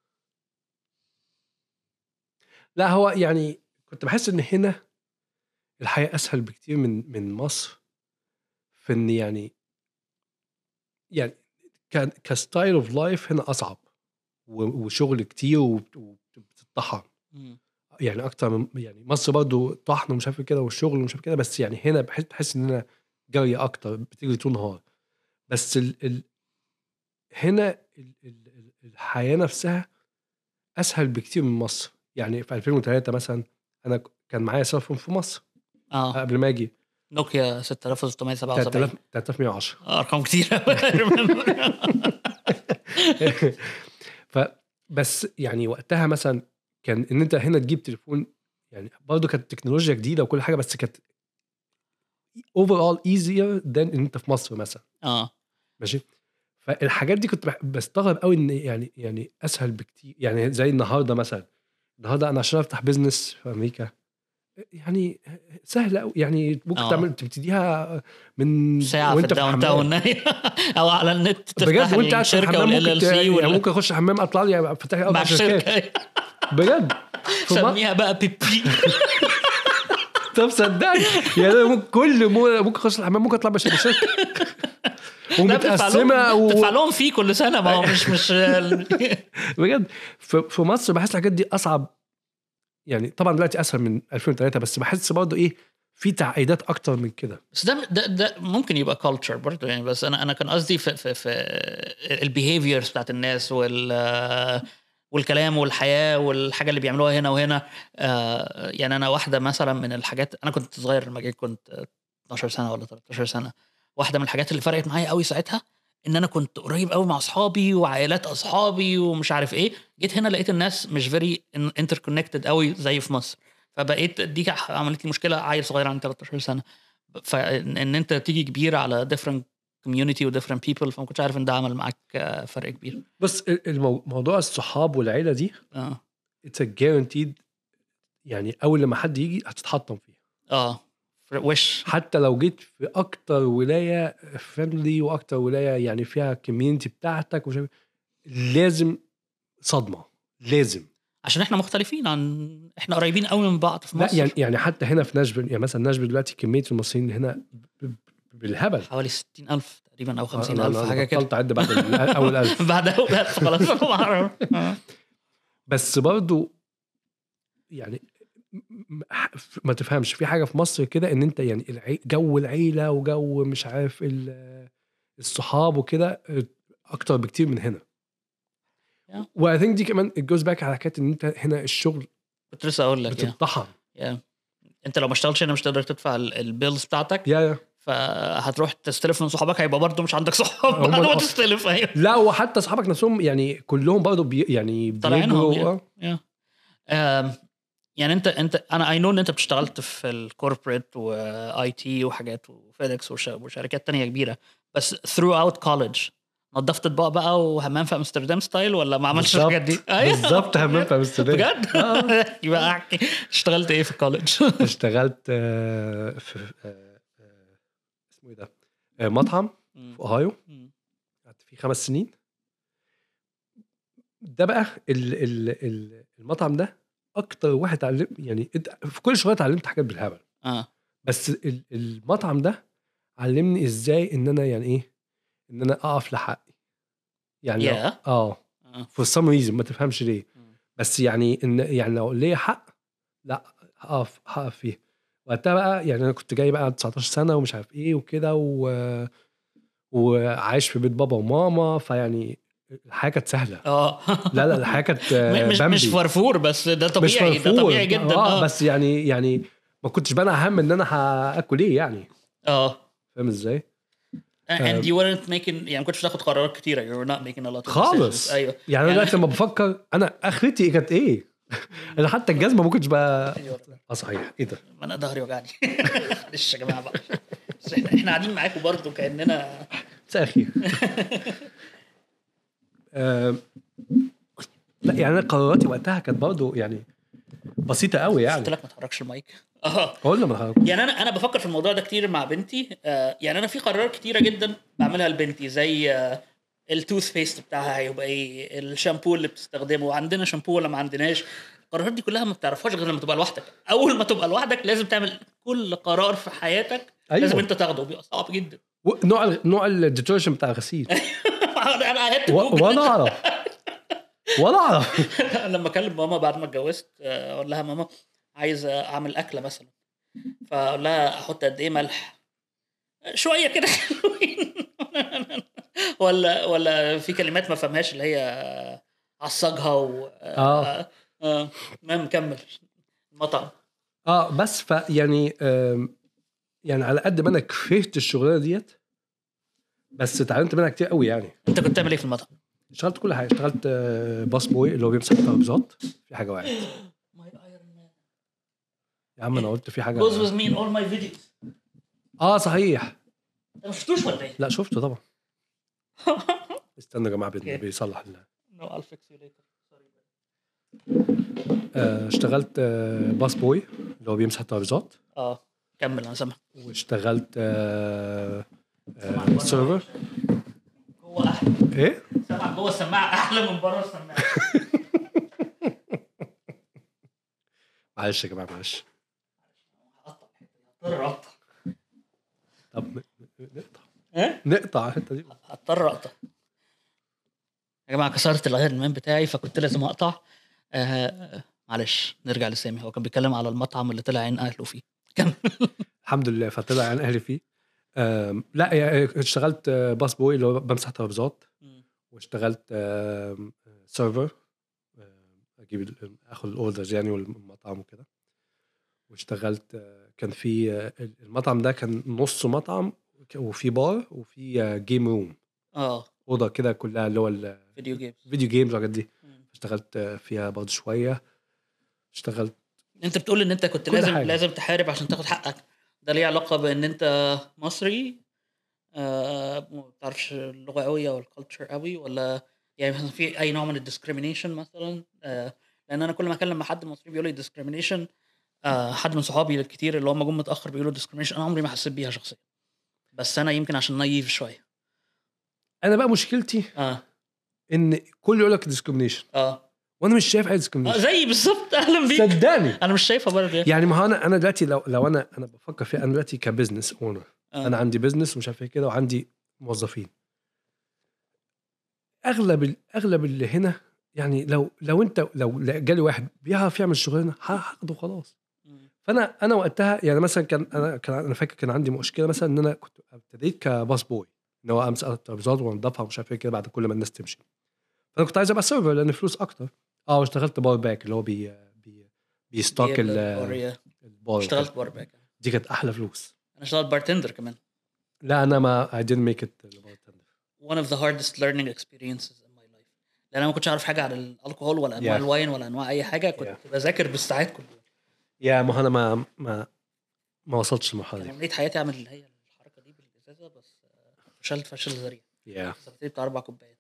لا هو يعني كنت بحس ان هنا الحياه اسهل بكتير من من مصر في ان يعني يعني كان كستايل اوف لايف هنا اصعب و- وشغل كتير وبت- وبتطحن يعني اكتر من يعني مصر برضو طحن ومش عارف إيه كده والشغل ومش عارف كده بس يعني هنا بحس بحس ان انا جري اكتر بتجري طول النهار بس ال ال هنا ال ال ال- الحياه نفسها اسهل بكتير من مصر. يعني في ألفين وثلاثة مثلا انا ك- كان معايا سيل فون في مصر اه قبل ما اجي نوكيا ستة آلاف وستمية وسبعة وسبعين ثلاثة آلاف ومية وعشرة ارقام كتير. فبس يعني وقتها مثلا كان ان انت هنا تجيب تليفون يعني برضه كانت تكنولوجيا جديده وكل حاجه، بس كانت overall easier than ان انت في مصر مثلا. اه ماشي. فالحاجات دي كنت بح- بستغرب قوي ان يعني يعني اسهل بكتير. يعني زي النهارده مثلا، النهارده انا عشان افتح بيزنس في امريكا يعني سهل قوي، يعني ممكن آه. تعمل تبتديها من ساعة في وانت في الداون الحمام تاون او على النت تفتح بجد، وانت قاعد في الشركة الحمام والال ممكن ال ت... سي يعني ممكن اخش الحمام اطلع لي فتح لي اربع مع شركات الشركة. بجد. فما سميها بقى بيبي. طب صدقني يعني أنا ممكن كل مو... ممكن اخش الحمام ممكن اطلع بشركه ومتقسمه و... تدفع لهم فيه كل سنة، ما هو مش مش بجد. في... في مصر بحس الحاجات دي اصعب. يعني طبعا دلوقتي اسهل من ألفين وثلاثة، بس بحس برضه ايه في تعقيدات اكتر من كده. بس ده ده, ده ممكن يبقى كلتشر برضه يعني. بس انا انا كان قصدي في في في البيهيفيرز بتاعت الناس وال والكلام والحياه والحاجه اللي بيعملوها هنا وهنا. آه يعني انا واحده مثلا من الحاجات، انا كنت صغير لما جيت كنت اتناشر سنه ولا تلتاشر سنه. واحده من الحاجات اللي فرقت معايا قوي ساعتها ان انا كنت قريب قوي مع اصحابي وعائلات اصحابي ومش عارف ايه. جيت هنا لقيت الناس مش فيري انتركونكتد قوي زي في مصر. فبقيت دي عملت لي مشكله، عيل صغير عندي تلتاشر سنه. فان انت تيجي كبير على different community و different people، فما كنتش عارف ان ده عمل معاك فرق كبير. بس المو... موضوع الصحاب والعيله دي اه it's a guaranteed. يعني اول لما حد يجي هتتحطم فيها. اه وش حتى لو جيت في اكتر ولايه فريندلي واكتر ولايه يعني فيها كوميونتي بتاعتك وش... لازم صدمه لازم. عشان احنا مختلفين عن احنا قريبين قوي من بعض في لا مصر. يعني يعني حتى هنا في ناشفيل، يعني مثلا ناشفيل دلوقتي كميه المصريين اللي هنا ب... بالهبل، حوالي ستين ألف تقريبا او خمسين أنا- ألف أنا حاجه كده. بطلت اعد بعد ال- اول ألف. بعد اول ألف خلاص. بس برضو يعني م- ما تفهمش في حاجه في مصر كده ان انت يعني العي... جو العيله وجو مش عارف ال- الصحاب وكده اكتر بكتير من هنا. Yeah. واي ثينك دي كمان الجوز باك على حكايه ان انت هنا الشغل كنت لسه اقول لك يا بتطحن. يا انت لو ما اشتغلتش هنا مش تقدر تدفع البيلز بتاعتك. يا يا فهتروح تستلف من صحابك، هيبقى برضه مش عندك صحاب هم بعد ما ال- تستلف. ايوه لا وحتى اصحابك نفسهم يعني كلهم برضه بي يعني طالعينهم بيجروا. يعني. آم، يعني انت انت انا اي نو ان انت بتشتغلت في الكوربريت واي تي وحاجات وفيدكس وشركات تانية كبيره، بس ثرو اوت كولج نظفت اطباق بقى وهمام في امستردام ستايل ولا ما عملتش الحاجات دي؟ بالظبط همام في امستردام بجد. يبقى احكي اشتغلت ايه في الكولج؟ اشتغلت آه، في آه، آه، اسمه ايه ده آه، مطعم في اوهايو، قعدت فيه خمس سنين. ده بقى ال ال ال المطعم ده اكتر واحد اتعلم يعني في كل شغله اتعلمت حاجات بالهبل. اه بس ال- المطعم ده علمني ازاي ان انا يعني ايه ان انا اقف لحقي. يعني لو يا اه for some reason ما تفهمش ليه، بس يعني ان يعني لو ليا حق لا هقف هقف فيه. وقتها بقى يعني انا كنت جاي بقى تسعتاشر سنه ومش عارف ايه وكده و... وعايش في بيت بابا وماما، فيعني الحياه كانت سهله. اه لا لا الحياه كانت آه، مش مش بامبي فرفور، بس ده مش طبيعي، ده فرفور طبيعي جدا. اه اه بس يعني يعني ما كنتش بقى اهم ان انا هاكل ايه يعني. اه فاهم ازاي؟ and you weren't making يعني ما كنتش بتاخد قرارات كتيره. you're not making a lot of decisions. خالص. ايوه يعني انا دلوقتي لما بفكر انا اخرتي كانت ايه. انا حتى الجزمه ما كنتش بقى اه صحيح ايه ده ما انا ظهري وجعني. معلش يا جماعه بقى، بس احنا احنا قاعدين معاكم برضو كاننا ساخي. آه لا يعني انا قراراتي وقتها كانت برضه يعني بسيطه قوي يعني. قلت لك ما تحركش المايك. اه قلنا ما يعني انا انا بفكر في الموضوع ده كتير مع بنتي. آه يعني انا في قرارات كتيره جدا بعملها لبنتي، زي آه التوث بيست بتاعها هيبقى ايه، الشامبو اللي بتستخدمه، عندنا شامبو ولا ما عندناش. القرارات دي كلها ما بتعرفهاش غير لما تبقى لوحدك. اول ما تبقى لوحدك لازم تعمل كل قرار في حياتك. أيوة. لازم انت تاخده، بيبقى صعب جدا. نوع نوع الديترجنت بتاع الغسيل. انا و... ولا اعرف ولا اعرف. لما اكلم ماما بعد ما اتجوزت اقول لها ماما عايز اعمل اكله مثلا، فاقول لها احط قد ايه ملح، شويه كده حلوين. ولا ولا في كلمات ما فهمهاش اللي هي عصجها و اه اه المهم كمل المطعم. اه بس فيعني يعني على قد ما انا كرهت الشغلانه ديت بس اتعلمت منها كتير قوي. يعني انت كنت بتعمل ايه في المطعم؟ اشتغلت كل حاجه. اشتغلت آه، باص بوي اللي هو بيمسح الترابيزات. في حاجه واحد يا عم انا قلت في حاجه goes with me in all my videos. اه صحيح. انت ما شفتوش ولا ايه؟ لا شفته طبعا. استنى يا جماعه Okay. بيصلح ال no I'll fix you later. آه، اشتغلت آه، باص بوي اللي هو بيمسح الترابيزات. اه كمل انا سامع. واشتغلت آه، آه، سيرفر. هو احلى ايه سامع جوه السماعه احلى من بره السماعه. معلش يا جماعه معلش. هقطع هضطر اقطع. طب ن- ن- نقطع ايه نقطع الحته دي. هضطر اقطع يا جماعه. كسرت الغير المان بتاعي فكنت لازم اقطع. آه معلش نرجع لسامي. هو كان بيتكلم على المطعم اللي طلع عين اهله فيه. كمل. الحمد لله فطلع عن اهلي فيه. آم، لا يعني اشتغلت آه، باص بوي اللي هو بمسح ترابيزات. واشتغلت آم، سيرفر. آم، اجيب ال- اخد الاوردرز يعني والمطعم وكده. واشتغلت آه، كان في آه، المطعم ده كان نص مطعم وفي بار وفي جيم روم. اه اوضه كده كلها اللي هو فيديو جيمز. الفيديو جيمز والحاجات دي. اشتغلت آه، فيها برضه شويه. اشتغلت انت بتقول ان انت كنت كل لازم حاجة. لازم تحارب عشان تاخد حقك. ده ليه علاقه بان انت مصري آه ما بتعرفش اللغه قوي او الكالتشر قوي، ولا يعني مثلا في اي نوع من الديسكريميشن مثلا؟ آه لان انا كل ما اكلم مع حد مصري بيقول لي ديسكريميشن. آه حد من صحابي الكتير اللي هم جم متاخر بيقولوا ديسكريميشن. انا عمري ما حسيت بيها شخصيا، بس انا يمكن عشان نايف شويه. انا بقى مشكلتي اه ان كل يقول لك ديسكريميشن اه وانا مش شايف اي اه ديسكريميشن. زي بالظبط. اهلا بيك. صدقني انا مش شايفها برضه. يعني ما هو انا انا دلوقتي لو لو انا انا بفكر فيها. انا دلوقتي كبزنس اونر. آه. انا عندي بزنس ومش عارف ايه كده وعندي موظفين. اغلب ال- اغلب اللي هنا يعني لو لو انت لو جالي واحد بيعرف يعمل الشغلانه هاخده خلاص. مم. فانا انا وقتها يعني مثلا كان انا كان انا فاكر كان عندي مشكله مثلا ان انا كنت ابتديت كباص بوي ان هو امسك الترابيزات وانضفها ومش عارف ايه كده بعد كل ما الناس تمشي. فانا كنت عايز ابقى سيرفر لان فلوس اكتر. اه واشتغلت بار باك اللي هو بي بي بيستوك ال- البار. البار اشتغلت وكده. بار باك. دي كانت احلى فلوس. انا اشتغلت بارتندر كمان. لا انا ما I didn't make it bartender. one of the hardest learning experiences in my life. لان انا ما كنتش اعرف حاجه عن الكحول ولا انواع Yeah. الواين ولا انواع اي حاجه. كنت Yeah. بذاكر بالساعات كل يوم. يا ما انا ما ما ما وصلتش للمرحله كان دي. امنيه حياتي اعمل اللي هي الحركه دي بالازازه، بس آه، فشلت فشل ذريع. يا سبت بتاع اربع كوبايات.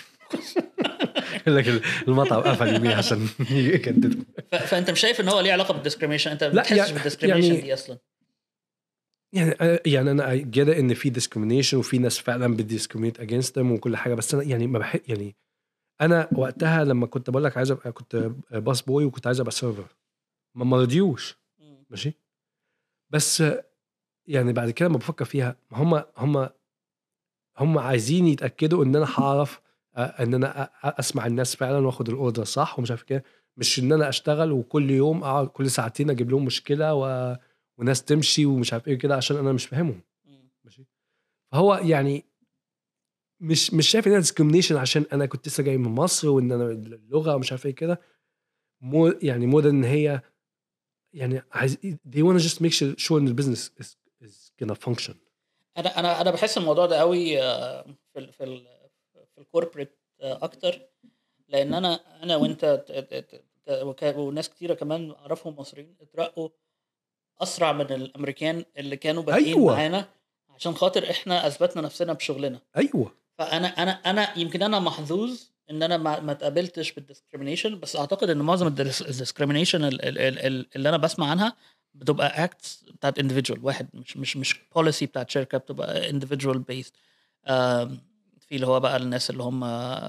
يقول لك المطعم قفل يمين عشان يكددوا. ف- فانت مش شايف ان هو ليه علاقه بالديسكريميشن؟ انت ما لا، بتحسش يعني- بالديسكريميشن يعني- دي اصلا؟ يعني يعني انا جدا ان في ديسكريميشن وفي ناس فعلا بتديسكريميت اجينست ذم وكل حاجه. بس انا يعني ما بحب يعني انا وقتها لما كنت بقول لك عايز ابقى كنت باص بوي وكنت عايز ابقى سيرفر ما مرضيوش. ماشي. بس يعني بعد كده لما بفكر فيها هم هم هم عايزين يتاكدوا ان انا هعرف آه، ان انا أ- أ- اسمع الناس فعلا واخد الاوردر صح ومش عارف كده. مش ان انا اشتغل وكل يوم اقعد كل ساعتين اجيب لهم مشكله و... وناس تمشي ومش عارف ايه كده عشان انا مش فاهمهم. ماشي. فهو يعني مش مش شايف انها ديسكريميشن عشان انا كنت لسه جاي من مصر وان انا اللغه ومش عارف ايه كده. مو يعني مو ان هي يعني عايز they wanna just make sure sure ان البيزنس is, is gonna function. انا انا انا بحس الموضوع ده قوي آه، في ال في ال في الكوربريت اكتر. لان انا انا وانت ت- ت- ت- وك- وناس كتيره كمان اعرفهم مصريين اترقوا اسرع من الامريكان اللي كانوا بادئين أيوة. معانا عشان خاطر احنا اثبتنا نفسنا بشغلنا. ايوه فانا انا انا يمكن انا محظوظ ان انا ما ما اتقابلتش بالديسكريميشن، بس اعتقد ان معظم الديسكريميشن اللي انا بسمع عنها بتبقى اكتس بتاعت individual واحد، مش مش مش بوليسي بتاعت شركه، بتبقى individual based. آم، في اللي هو بقى الناس اللي هم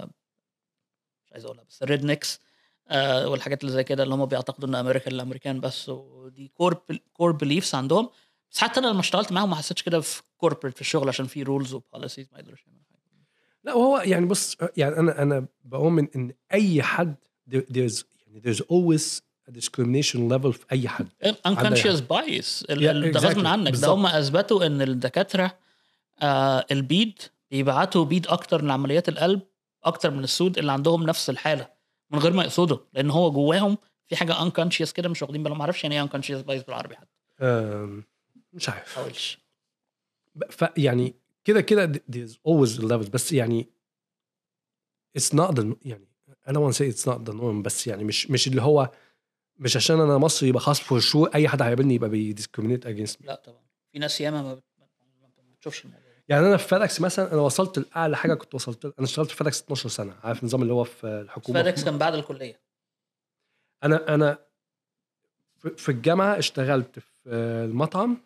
مش عايز اقولها بس الريد نيكس والحاجات اللي زي كده اللي هم بيعتقدوا ان امريكا الامريكان بس، ودي كور كور بليفز عندهم. بس حتى انا لما اشتغلت معاهم ما حسيتش كده في كوربريت في الشغل عشان في رولز وبوليسيز ما يقدروش يعملوا حاجه. لا وهو يعني بص يعني انا انا بؤمن ان اي حد there- there's يعني there's always a discrimination level في اي حد. unconscious bias ال- Yeah, ال- ده غصب exactly. عنك. ده بالظبط. هم اثبتوا ان الدكاتره آه البيد بيبعتوا بيد اكتر لعمليات القلب اكتر من السود اللي عندهم نفس الحاله من غير ما يقصدوا، لان هو جواهم في حاجه unconscious كده مش واخدين بالهم. ما اعرفش يعني ايه unconscious bias بالعربي حتى. أم، مش عارف حاولش ف يعني كده كده there's always levels بس يعني it's not the يعني I don't want to say it's not the norm بس يعني مش مش اللي هو مش عشان انا مصري يبقى خلاص for sure اي حد هيقابلني يبقى بي discriminate against me. لا طبعا في ناس ياما ما بت- ما بتشوفش الموضوع ده. يعني انا في فيدكس مثلا انا وصلت لاعلى حاجه كنت وصلت لها. انا اشتغلت في فيدكس اتناشر سنه عارف النظام اللي هو في الحكومه فادكس في كان بعد الكليه. انا انا في- في الجامعه اشتغلت في المطعم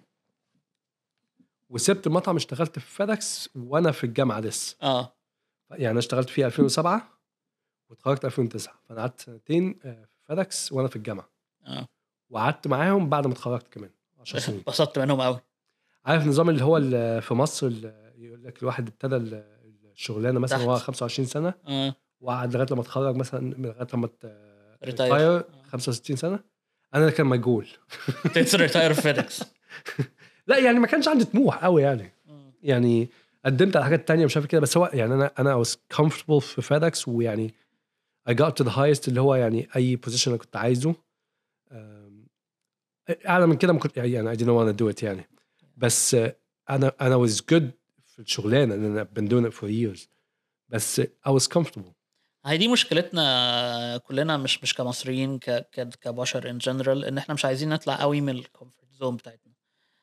وسبت المطعم اشتغلت في فيدكس وانا في الجامعه لسه اه يعني انا اشتغلت فيه ألفين وسبعة واتخرجت ألفين وتسعة فانا قعدت سنتين في فيدكس وانا في الجامعه اه وقعدت معاهم بعد ما اتخرجت كمان عشر سنين. اتبسطت منهم قوي. عارف النظام اللي هو اللي في مصر اللي يقول لك الواحد ابتدى الشغلانه مثلا وهو تحت. خمسة وعشرين سنه اه وقعد لغايه لما اتخرج مثلا لغايه لما ريتاير. ريتاير خمسة وستين سنه. انا كان مجهول تيتس ريتاير في فيدكس. لا يعني ما كانش عندي طموح قوي يعني يعني قدمت على حاجات تانية مش عارف كده بس هو يعني انا انا was comfortable في فيدكس ويعني I got to the highest اللي هو يعني اي position انا كنت عايزه. أم، اعلى من كده ما كنت يعني I didn't want to do it يعني بس آه، انا انا was good في الشغلانه لان انا been doing it for years بس I was comfortable. هي دي مشكلتنا كلنا مش مش كمصريين ك ك كبشر ان جنرال ان احنا مش عايزين نطلع قوي من الكومفورت زون بتاعتنا.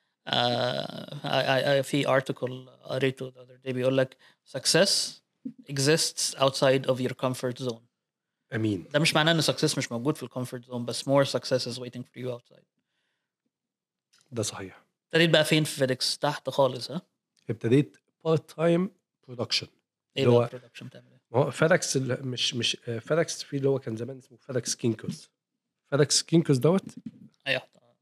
آه في ارتكل قريته the other day بيقول لك success exists outside of your comfort zone. امين. ده مش معناه ان success مش موجود في الكومفورت زون بس more success is waiting for you outside. ده صحيح. ابتديت بقى فين في فيدكس؟ تحت خالص ها؟ ابتديت بارت تايم برودكشن ايه اللي بقى هو البرودكشن بتعمل ايه؟ ما هو فيدكس مش مش فيدكس في اللي هو كان زمان اسمه فيدكس كينكوز. فيدكس كينكوز دوت ايوه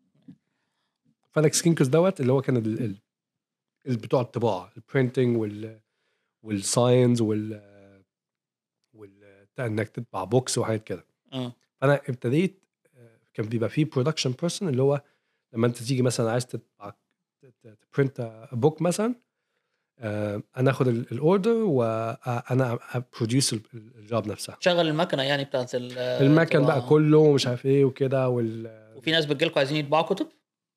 فيدكس كينكوز دوت اللي هو كان ال- ال- ال- بتوع الطباعه البرينتنج وال والساينز وال وال انك تطبع بوكس وحاجات كده. اه فانا ابتديت آه، كان بيبقى فيه برودكشن بيرسون اللي هو لما انت تيجي مثلا عايز تطبع تبرنت بوك مثلا آه، انا اخد الاوردر وانا بروديوس الجوب نفسها شغل المكنه يعني بتاعت المكن بقى الطباعه. كله ومش عارف ايه وكده وال وفي ناس بتجيلكوا عايزين يطبعوا كتب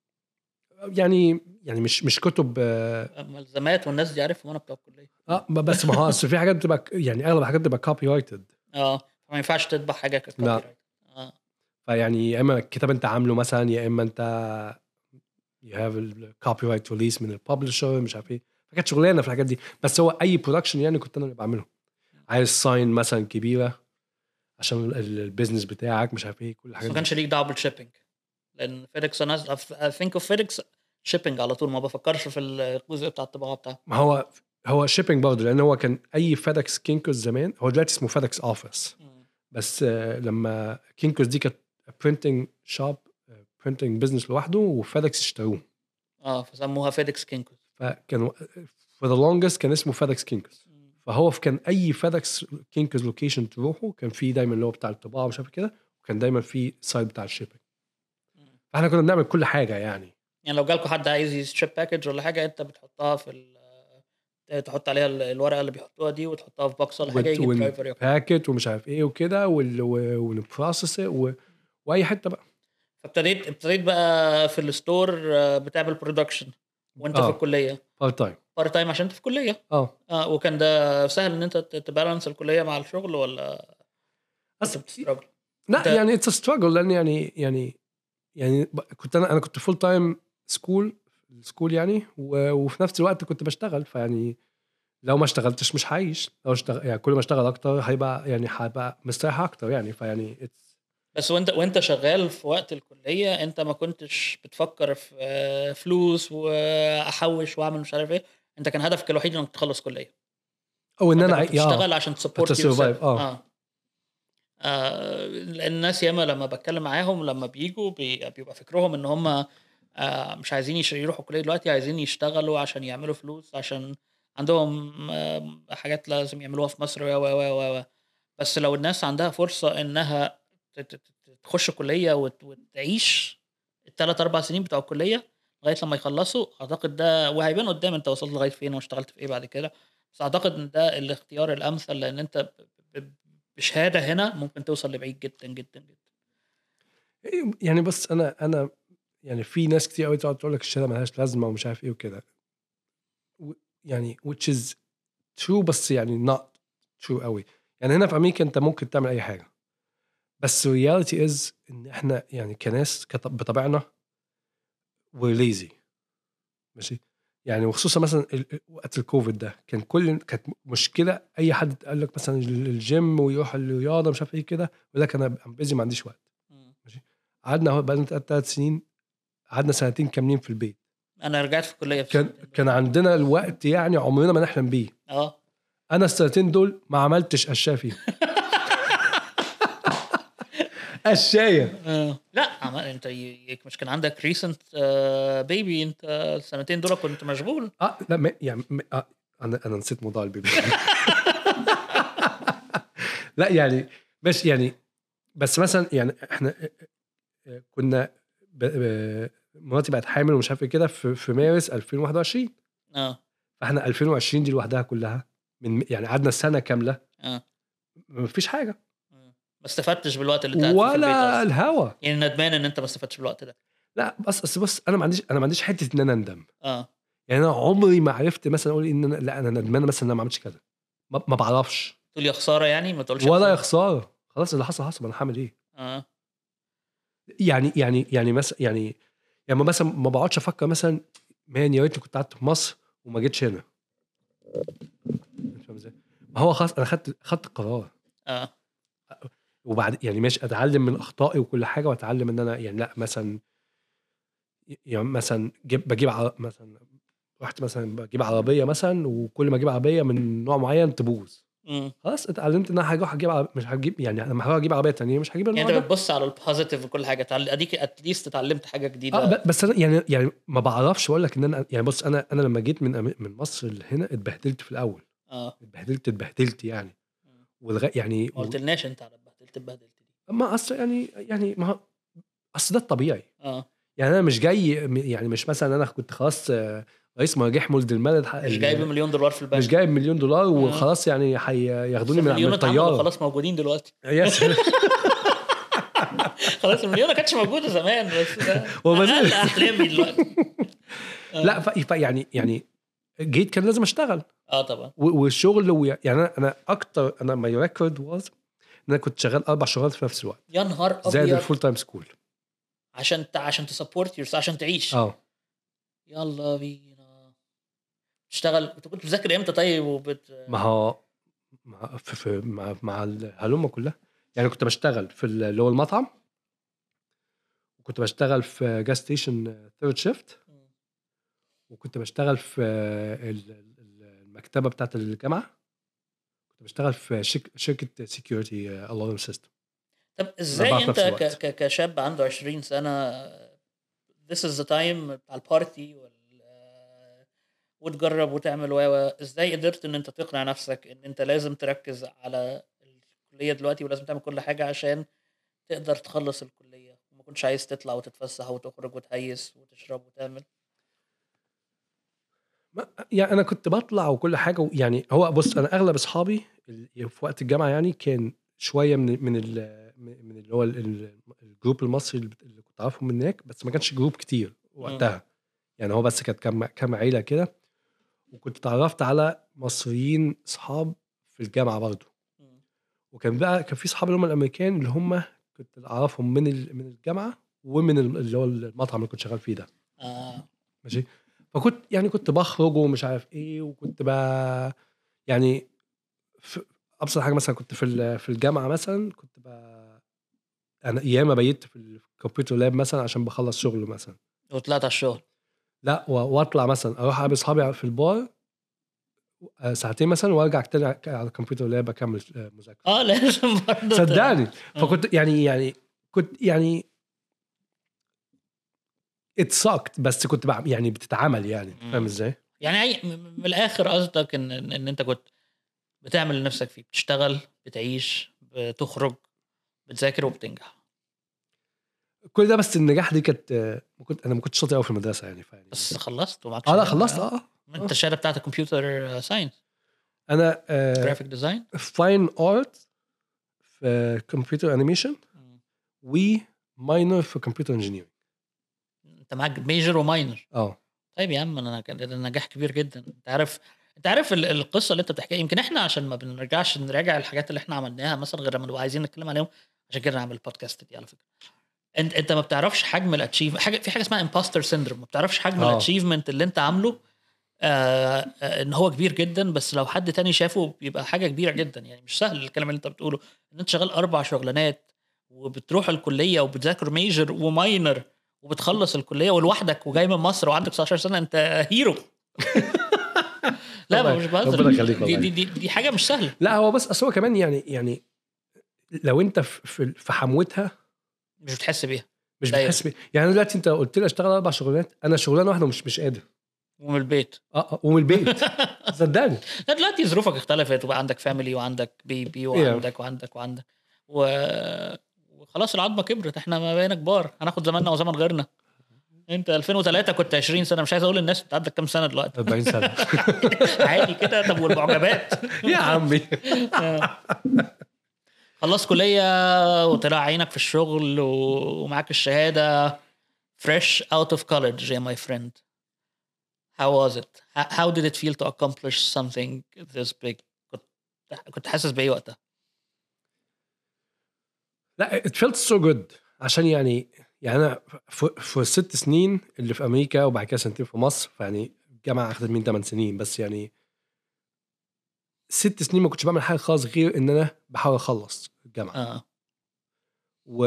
يعني يعني مش مش كتب اه ملزمات والناس دي عارفهم انا بتوع الكليه. آه، بس ما هو اصل في حاجات بتبقى يعني اغلب الحاجات بتبقى كوبي رايتد. اه فما ينفعش تطبع حاجه ككوبي لا رايت. اه فيعني يا اما الكتاب انت عامله مثلا يا اما انت you have الكوبي رايت ريليس من الببلشر مش عارف ايه فكانت شغلانه في الحاجات دي بس هو اي برودكشن يعني كنت انا اللي بعمله. عايز ساين مثلا كبيره عشان ال- البيزنس بتاعك مش عارف ايه كل بس الحاجات ما دي. كانش ليك دعوه بالشيبنج لان فيدكس انا ثينك اوف فيدكس شيبنج على طول ما بفكرش في الجزء بتاع الطباعه بتاعه. ما هو هو شيبنج برضه لان هو كان اي فيدكس كينكوز زمان هو دلوقتي اسمه فيدكس اوفيس بس آه، لما كينكوز دي كانت برينتنج شوب برينتنج بزنس لوحده وفيدكس اشتروه اه فسموها فيدكس كينكوز. فكانوا for the longest كان اسمه فيدكس كينكوز. فهو في كان اي فيدكس كينكوز لوكيشن تروحه كان في دايما اللي هو بتاع الطباعه مش عارف كده وكان دايما في سايد بتاع الشيبنج. فاحنا كنا بنعمل كل حاجه يعني. يعني لو جالكوا حد عايز يشيب باكج ولا حاجه انت بتحطها في ال تحط عليها ال- الورقه اللي بيحطوها دي وتحطها في بوكس ولا حاجه يجي الدرايفر ياخدها. والباكت ومش عارف ايه وكده ونبروسس و... واي حته بقى. فابتديت ابتديت بقى في الستور آه، بتعمل برودكشن وانت في اه الكليه بارت تايم بارت تايم عشان انت في الكليه. اه اه وكان ده سهل ان انت ت- تبالانس الكليه مع الشغل ولا كنت بس بتستراجل؟ لا انت يعني اتس ستراجل لان يعني يعني يعني ب- كنت انا انا كنت فول تايم سكول سكول يعني و... وفي نفس الوقت كنت بشتغل فيعني لو ما اشتغلتش مش هعيش لو اشتغل يعني كل ما اشتغل اكتر هيبقى يعني هبقى مستريح اكتر يعني فيعني it's... بس وانت وانت شغال في وقت الكليه انت ما كنتش بتفكر في آه، فلوس واحوش واعمل مش عارف ايه. انت كان هدفك الوحيد انك تخلص كليه. او ان فانت انا كنت عي... اه بتشتغل عشان تسبورت يور survive سيلف. اه اه آه، الناس ياما لما بتكلم معاهم لما بيجوا بي- بيبقى فكرهم ان هم آه، مش عايزين يش- يروحوا كلية دلوقتي عايزين يشتغلوا عشان يعملوا فلوس عشان عندهم آه، حاجات لازم يعملوها في مصر و و و و بس لو الناس عندها فرصة انها ت- ت- ت- تخش كلية وت- وتعيش الثلاث اربع سنين بتوع الكلية لغاية لما يخلصوا اعتقد ده وهيبان قدام انت وصلت لغاية فين واشتغلت في ايه بعد كده. بس اعتقد ان ده الاختيار الامثل لان انت ب- ب- بشهادة هنا ممكن توصل لبعيد جدا جدا جدا. يعني بس انا انا يعني في ناس كتير قوي تقعد تقول لك الشهاده ملهاش لازمه ومش عارف ايه وكده و- يعني which is true بس يعني not true قوي. يعني هنا في امريكا انت ممكن تعمل اي حاجه بس reality is ان احنا يعني كناس كط- بطبعنا we're lazy ماشي. يعني وخصوصا مثلا ال- ال- وقت الكوفيد ده كان كل كانت مشكله اي حد قال لك مثلا ال- الجيم ويروح الرياضه مش عارف ايه كده يقول لك انا بيزي ما عنديش وقت مم. ماشي. قعدنا اهو بقالنا ثلاث سنين قعدنا سنتين كاملين في البيت انا رجعت في الكليه في كان السنتين دول. كان عندنا الوقت يعني عمرنا ما نحلم بيه. اه انا السنتين دول ما عملتش اشياء فيهم اشياء آه. لا عم- انت ي- مش كان عندك ريسنت بيبي انت السنتين دول كنت مشغول. اه لا ما يعني ما آه انا انا نسيت موضوع البيبي لا يعني بس يعني بس مثلا يعني احنا كنا ب... ب... مراتي بقت حامل ومش عارف ايه كده في... في مارس ألفين وواحد وعشرين اه فاحنا ألفين وعشرين دي لوحدها كلها من يعني قعدنا سنه كامله اه ما فيش حاجه ما استفدتش بالوقت اللي انت قاعد فيه في البيت ولا اصلا. الهوا. يعني ندمان ان انت ما استفدتش بالوقت ده. لا بس بس بص انا ما عنديش انا ما عنديش حته ان انا اندم. اه يعني انا عمري ما عرفت مثلا اقول ان انا لا انا ندمان مثلا ان انا ما عملتش كذا ما, ما بعرفش تقول يا خساره يعني ما تقولش ولا يا خساره. خساره خلاص اللي حصل حصل انا هعمل ايه. اه يعني يعني يعني مثلا يعني يعني مثلا ما بقعدش افكر مثلا مان يا ريتني كنت قعدت في مصر وما جيتش هنا. فاهم ازاي؟ ما هو خلاص انا خدت خدت القرار اه وبعد يعني ماشي اتعلم من اخطائي وكل حاجه واتعلم ان انا يعني لا مثلا يعني مثلا جيب بجيب عر... مثلا رحت مثلا بجيب عربيه مثلا وكل ما اجيب عربيه من نوع معين تبوظ امم خلاص اتعلمت ان انا هروح اجيب عربية مش هجيب يعني لما هروح اجيب عربيه تانية مش هجيب النوع يعني انت ده. بتبص على البوزيتيف وكل حاجه تعال- اديك اتليست اتعلمت حاجه اه جديده. ب- بس انا يعني يعني ما بعرفش اقول لك ان انا يعني بص انا انا لما جيت من أم- من مصر لهنا اتبهدلت في الاول اه اتبهدلت اتبهدلت يعني والغ... يعني ما و... قلتلناش انت على اتبهدلت اتبهدلت دي. ما اصل يعني يعني ما هو- اصل ده الطبيعي. اه يعني انا مش جاي م- يعني مش مثلا انا كنت خلاص آه، رئيس مراجح مولد المال الح- مش جايب ال- مليون دولار في مش البنك. جايب مليون دولار آه. وخلاص يعني بس هياخدوني من من المليون اتعملوا الطياره. خلاص موجودين دلوقتي. يس خلاص المليون ما كانتش موجوده زمان بس ده وما اقل زال احلامي دلوقتي. لا اه, ف... ف- يعني يعني جيت كان لازم اشتغل آه طبعا. و- والشغل و... يعني انا انا اكتر انا ماي ريكورد واز ان انا كنت شغال اربع شغلات في نفس الوقت يا نهار زائد ابيض. الفول تايم سكول. عشان ت... عشان تسبورت يورس عشان تعيش. اه يلا بينا تشتغل. انت كنت بتذاكر امتى طيب وبت ما هو مع في, في مع مع الهلومه كلها. يعني كنت بشتغل في ال- اللي هو المطعم وكنت بشتغل في جاز ستيشن ثيرد شيفت وكنت بشتغل في ال- ال- المكتبه بتاعت الجامعه كنت بشتغل في شك... شركه سكيورتي الارم سيستم. طب الاربعه ازاي في انت نفس ك... الوقت. ك... كشاب عنده عشرين سنه this is the time بتاع البارتي وال... وتجرب وتعمل و ازاي قدرت ان انت تقنع نفسك ان انت لازم تركز على الكليه دلوقتي ولازم تعمل كل حاجه عشان تقدر تخلص الكليه وما كنتش عايز تطلع وتتفسح وتخرج وتهيس وتشرب وتعمل. ما- يعني انا كنت بطلع وكل حاجه يعني هو بص انا اغلب اصحابي ال- في وقت الجامعه يعني كان شويه من من ال- من اللي هو ال- ال- الجروب المصري اللي اللي كنت عارفهم من هناك بس ما كانش جروب كتير امم وقتها. يعني هو بس كانت كام كام عيله كده وكنت اتعرفت على مصريين اصحاب في الجامعه برضه. وكان بقى كان في صحاب اللي هم الامريكان اللي هم كنت اعرفهم من ال- من الجامعه ومن ال- اللي هو المطعم اللي كنت شغال فيه ده. اه ماشي. فكنت يعني كنت بخرج ومش عارف ايه وكنت بقى يعني في ابسط حاجه مثلا كنت في ال- في الجامعه مثلا كنت بقى انا ايام بيت في الكمبيوتر لاب مثلا عشان بخلص شغل مثلا. وطلعت على الشغل. لا و- واطلع مثلا اروح اقابل اصحابي في البار آه، ساعتين مثلا وارجع تاني على الكمبيوتر لاب اكمل آه، مذاكره. اه لازم برضه ت- صدقني. آه. فكنت يعني يعني كنت يعني اتساكت بس كنت بع- يعني بتتعامل يعني فاهم مم. ازاي. يعني أي م- من الاخر قصدك ان ان إن انت كنت بتعمل اللي نفسك فيه بتشتغل بتعيش بتخرج بتذاكر وبتنجح. كل ده بس النجاح دي كانت آه، ما كنت انا ما كنتش شاطر قوي في المدرسه يعني فاهم. بس خلصت ومعاك اه لا شهاده. خلصت اه آه. آه. انت الشهاده بتاعتك كمبيوتر ساينس انا جرافيك ديزاين. فاين ارت في كمبيوتر انيميشن وماينر في كمبيوتر انجينيرنج. انت معاك ميجر وماينر. اه طيب يا عم انا كان ده نجاح كبير جدا. انت عارف انت عارف ال- القصه اللي انت بتحكيها، يمكن احنا عشان ما بنرجعش نراجع الحاجات اللي احنا عملناها مثلا غير لما نبقى عايزين نتكلم عليهم، عشان كده نعمل البودكاست دي على فكره. انت انت ما بتعرفش حجم الاتشيف حاجه، في حاجه اسمها امباستر سيندروم، ما بتعرفش حجم آه. الاتشيفمنت اللي انت عامله آه آه، ان هو كبير جدا، بس لو حد تاني شافه بيبقى حاجه كبيره جدا. يعني مش سهل الكلام اللي انت بتقوله، ان انت شغال اربع شغلانات وبتروح الكليه وبتذاكر ميجر وماينر وبتخلص الكليه ولوحدك وجاي من مصر وعندك تسعتاشر سنه، انت هيرو. لا مش بهزر، ربنا يخليك دي, والله. دي, دي, دي حاجه مش سهله. لا هو بس اصل هو كمان يعني يعني لو انت في في- في حموتها مش بتحس بيها مش دايما. بتحس بيه. يعني أنا دلوقتي انت قلت لي اشتغل اربع شغلانات، انا شغلانه واحده مش مش قادر. ومن البيت اه آه، ومن البيت صدقني. لا دلوقتي ظروفك اختلفت وبقى عندك فاميلي وعندك بيبي وعندك وعندك وعندك و... وخلاص العظمه كبرت، احنا ما بقينا كبار، هناخد زماننا وزمن غيرنا. انت ألفين وثلاثة كنت عشرين سنه، مش عايز اقول للناس انت عندك كام سنه دلوقتي. أربعين سنه عادي كده. طب والمعجبات؟ يا عمي خلص كليه وطلع عينك في الشغل ومعاك الشهاده fresh out of college yeah my friend. How was it? How how did it feel to accomplish something this big? كنت كنت حاسس بايه وقتها؟ لا it felt so good. عشان يعني يعني انا في, في الست سنين اللي في امريكا وبعد كده سنتين في مصر، فيعني الجامعه اخذت مني ثمان سنين بس، يعني ست سنين ما كنتش بعمل حاجه خالص غير ان انا بحاول اخلص الجامعه. اه و...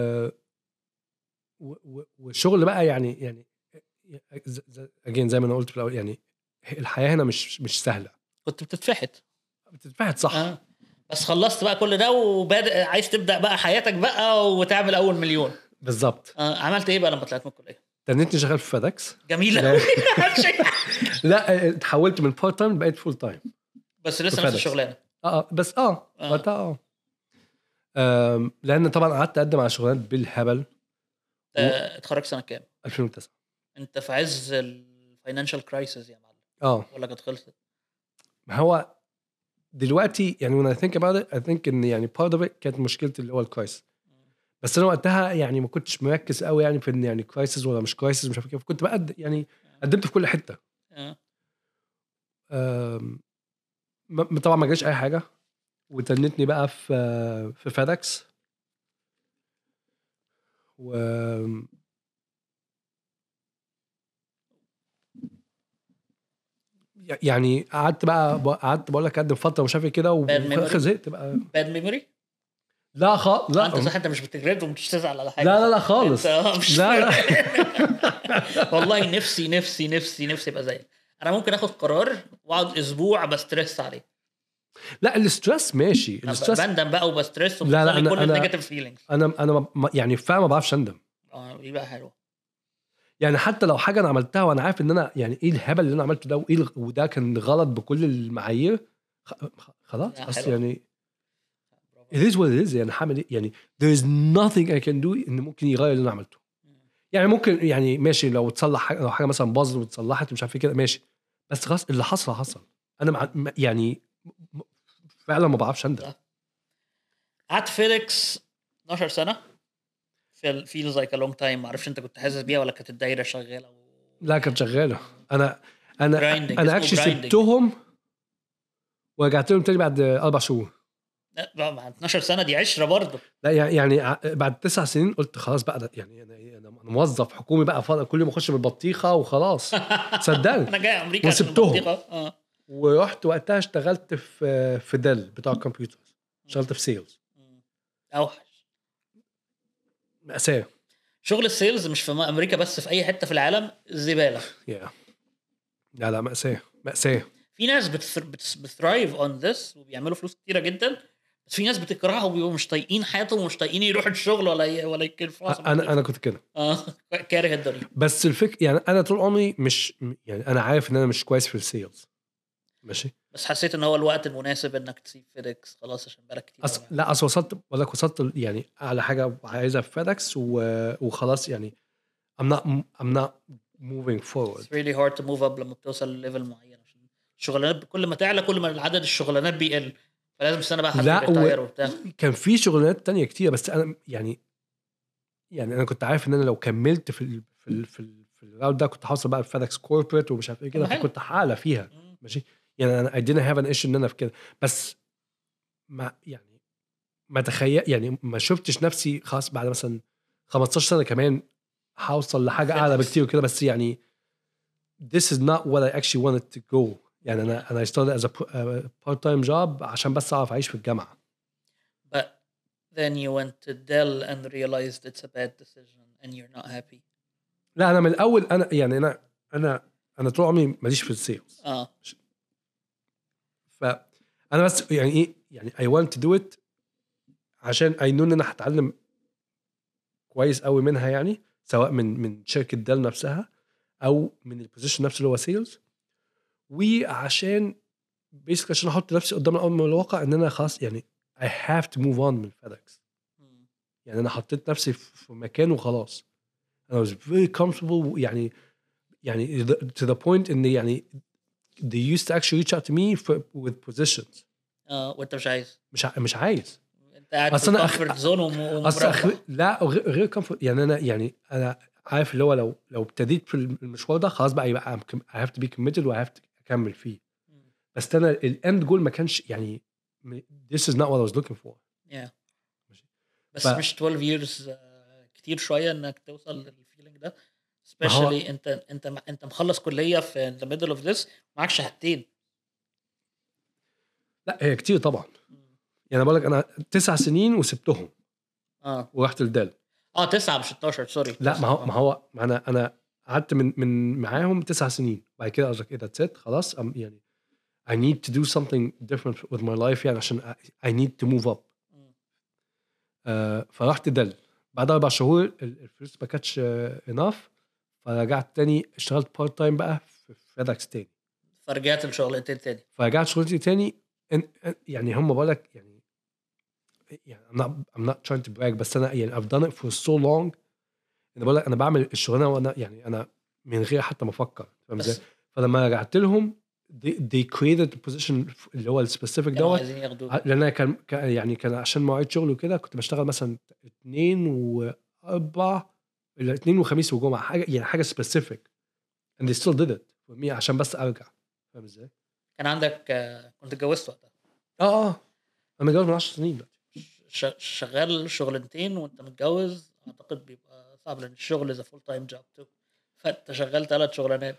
و... و... والشغل بقى يعني يعني اجين زي ما انا قلت في الاول، يعني الحياه هنا مش مش سهله، كنت بتتفحت. بتتفحت صح. اه بس خلصت بقى كل ده وبادئ عايز تبدا بقى حياتك بقى وتعمل اول مليون. بالظبط. آه عملت ايه بقى لما طلعت من الكليه؟ تنيتني شغال في فادكس. جميله لا. قوي. لا اتحولت من بارت تايم بقيت فول تايم. بس لسه نفس فادكس. الشغلانه. اه بس اه آه. وقتها اه آم، لان طبعا قعدت اقدم على شغلانات بالهبل. آه، اتخرجت سنه كام؟ ألفين وتسعة. انت في عز الفاينانشال كرايسيس يا معلم اه ولا كانت خلصت؟ ما هو دلوقتي يعني when I think about it I think ان يعني part of it كانت مشكلتي اللي هو الكرايسيس، بس انا وقتها يعني ما كنتش مركز قوي يعني في ان يعني كرايسيس ولا مش كرايسيس مش عارف كيف، كنت بقد يعني قدمت في كل حته. اه آم، ما- طبعا ما جاش اي حاجه، وتنتني بقى في في فادكس و يعني قعدت بقى قعدت بقول لك اقدم فتره مش عارف كده، Bad وفي الاخر memory. زهقت بقى. باد ميموري. لا خ... لا انت صح، انت مش بتجرد ومش تزعل على حاجه. لا لا لا خالص. انت اه مش لا لا والله نفسي نفسي نفسي نفسي ابقى زيك. انا ممكن اخد قرار واقعد اسبوع بستريس عليه. لا الاسترس ماشي، الاسترس بندم بقى وبستريس لا لا وبخلي أنا- كل أنا- النيجاتيف فيلينجز. انا انا ما- يعني فعلا ما بعرفش اندم. اه يبقى حلو. يعني حتى لو حاجه انا عملتها وانا عارف ان انا يعني ايه الهبل اللي انا عملته ده وايه الغ- وده كان غلط بكل المعايير، خ- خ- خلاص لا، اصل حلو. يعني it is what it is. يعني هعمل ايه يعني there is nothing I can do ان ممكن يغير اللي انا عملته. يعني ممكن يعني ماشي لو تصلح حاجه، لو حاجه مثلا باظت وتصلحت مش عارف ايه كده ماشي، بس خلاص اللي حصل حصل. انا مع م- يعني م- فعلا ما بعرفش اندم. قعدت فيديكس اتناشر سنه في فيلز لايك ا لونج تايم. ما اعرفش انت كنت حاسس بيها ولا كانت الدايره شغاله و... لا كانت شغاله. انا انا Grinding. انا اسمه اكشلي grinding. سبتهم ورجعت لهم تاني بعد اربع شهور. لا بقى مع اتناشر سنه دي عشره برضه. لا يعني يعني ع- بعد تسع سنين قلت خلاص بقى ده يعني انا انا أنا موظف حكومي بقى فاضل كل يوم اخش بالبطيخه وخلاص. صدقني. انا جاي امريكا عشان وسبتهم. البطيخة. اه ورحت وقتها اشتغلت في في ديل بتاع الكمبيوتر، اشتغلت في سيلز. اوحش مأساة. شغل السيلز مش في امريكا بس، في اي حته في العالم زباله. yeah. لا لا مأساة مأساة. في ناس بتثرايف اون ذس وبيعملوا فلوس كتيره جدا، بس في ناس بتكرهها وبيبقوا مش طايقين حياتهم ومش طايقين يروحوا الشغل ولا ي... ولا يكرفوا. انا انا كنت كده. اه كاره الدنيا. بس الفكره يعني انا طول عمري مش يعني انا عارف ان انا مش كويس في السيلز ماشي، بس حسيت ان هو الوقت المناسب انك تسيب فيديكس خلاص عشان بالك كتير. أص... لا اصل وصلت ولا وصلت يعني على حاجه عايزها في فيدكس و... وخلاص يعني I'm not I'm not moving forward. It's really hard to move up لما بتوصل لليفل معين، عشان الشغلانات كل ما تعلى كل ما العدد الشغلانات بيقل، فلازم السنه بقى حد لا يريتاير و... وبتاع. كان في شغلانات تانية كتير بس انا يعني يعني انا كنت عارف ان انا لو كملت في ال... في ال في ال في الراوند ده كنت حاصل بقى في فيدكس كوربريت ومش عارف ايه كده، طب حلو. فكنت حالة فيها مم. ماشي. يعني انا I didn't have an issue ان انا في كده، بس ما يعني ما تخيل يعني ما شفتش نفسي خلاص بعد مثلا خمستاشر سنة كمان هوصل لحاجة اعلى FedEx. بكتير وكده، بس يعني this is not what I actually wanted to go. يعني انا انا I started as a p- a part time job عشان بس اعرف اعيش في الجامعة. But then you went to Dell and realized it's a bad decision and you're not happy. لا انا من الاول انا يعني انا انا انا طول عمري ماليش في السيلز. اه فانا بس يعني ايه يعني I want to do it عشان I know ان انا هتعلم كويس قوي منها، يعني سواء من من شركة ديل نفسها او من البوزيشن نفسه اللي هو سيلز، وعشان بيسك عشان احط نفسي قدام الامر الواقع ان انا خلاص يعني I have to move on من فيدكس. مم. يعني انا حطيت نفسي في مكان وخلاص. I was very comfortable يعني يعني to the point ان يعني they used to actually reach out to me for, with positions. اه وانت مش عايز، مش ع- مش عايز انت قاعد في اصل انا أخ... الكومفورت زون اصل أخ... ومربع. لا غير, غير comfort. يعني انا يعني انا عارف اللي هو لو لو ابتديت في المشوار ده خلاص بقى يبقى I'm com- I have to be committed و I have to اكمل فيه. مم. بس انا الاند جول ما كانش يعني this is not what I was looking for. yeah. ف... بس مش اتناشر years آه، كتير شويه انك توصل للفيلينج ده، ما هو especially انت انت انت مخلص كليه في the middle of this معاك شهادتين. لا هي كتير طبعا. مم. يعني بقول لك انا تسع سنين وسبتهم اه ورحت لدال. اه تسعة مش اتناشر سوري. لا ما هو تسعة. ما هو ما انا انا قعدت من من معاهم تسع سنين بعد كده قصدك ايه that's it خلاص. I'm يعني I need to do something different with my life يعني عشان I, I need to move up. مم. آه فرحت دل بعد اربع شهور ال- الفلوس ما كانتش اناف، فرجعت تاني اشتغلت بارت تايم بقى في فيدكس تاني. فرجعت لشغلتين تاني. فرجعت شغلتي تاني إن- إن- يعني هم بقولك يعني يعني I'm not, I'm not trying to brag بس انا يعني I've done it for so long. انا بقولك انا بعمل الشغلانه وانا يعني انا من غير حتى ما افكر، فاهم ازاي؟ بس فلما رجعت لهم they, they created the position اللي هو السبيسيفيك كانوا دوت. عايزين ياخدوك. لان انا كان كان- يعني كان عشان مواعيد شغل وكده كنت بشتغل مثلا اثنين واربع الا اثنين وخميس وجمعه حاجه يعني حاجه سبيسيفيك and they still did it for me عشان بس ارجع، فاهم ازاي؟ كان عندك آه، كنت اتجوزت وقتها، اه اه انا متجوز من عشر سنين دلوقتي. ش- شغال شغلانتين وانت متجوز، اعتقد بيبقى صعب لان الشغل از فول تايم جوب تو، فانت شغال ثلاث شغلانات.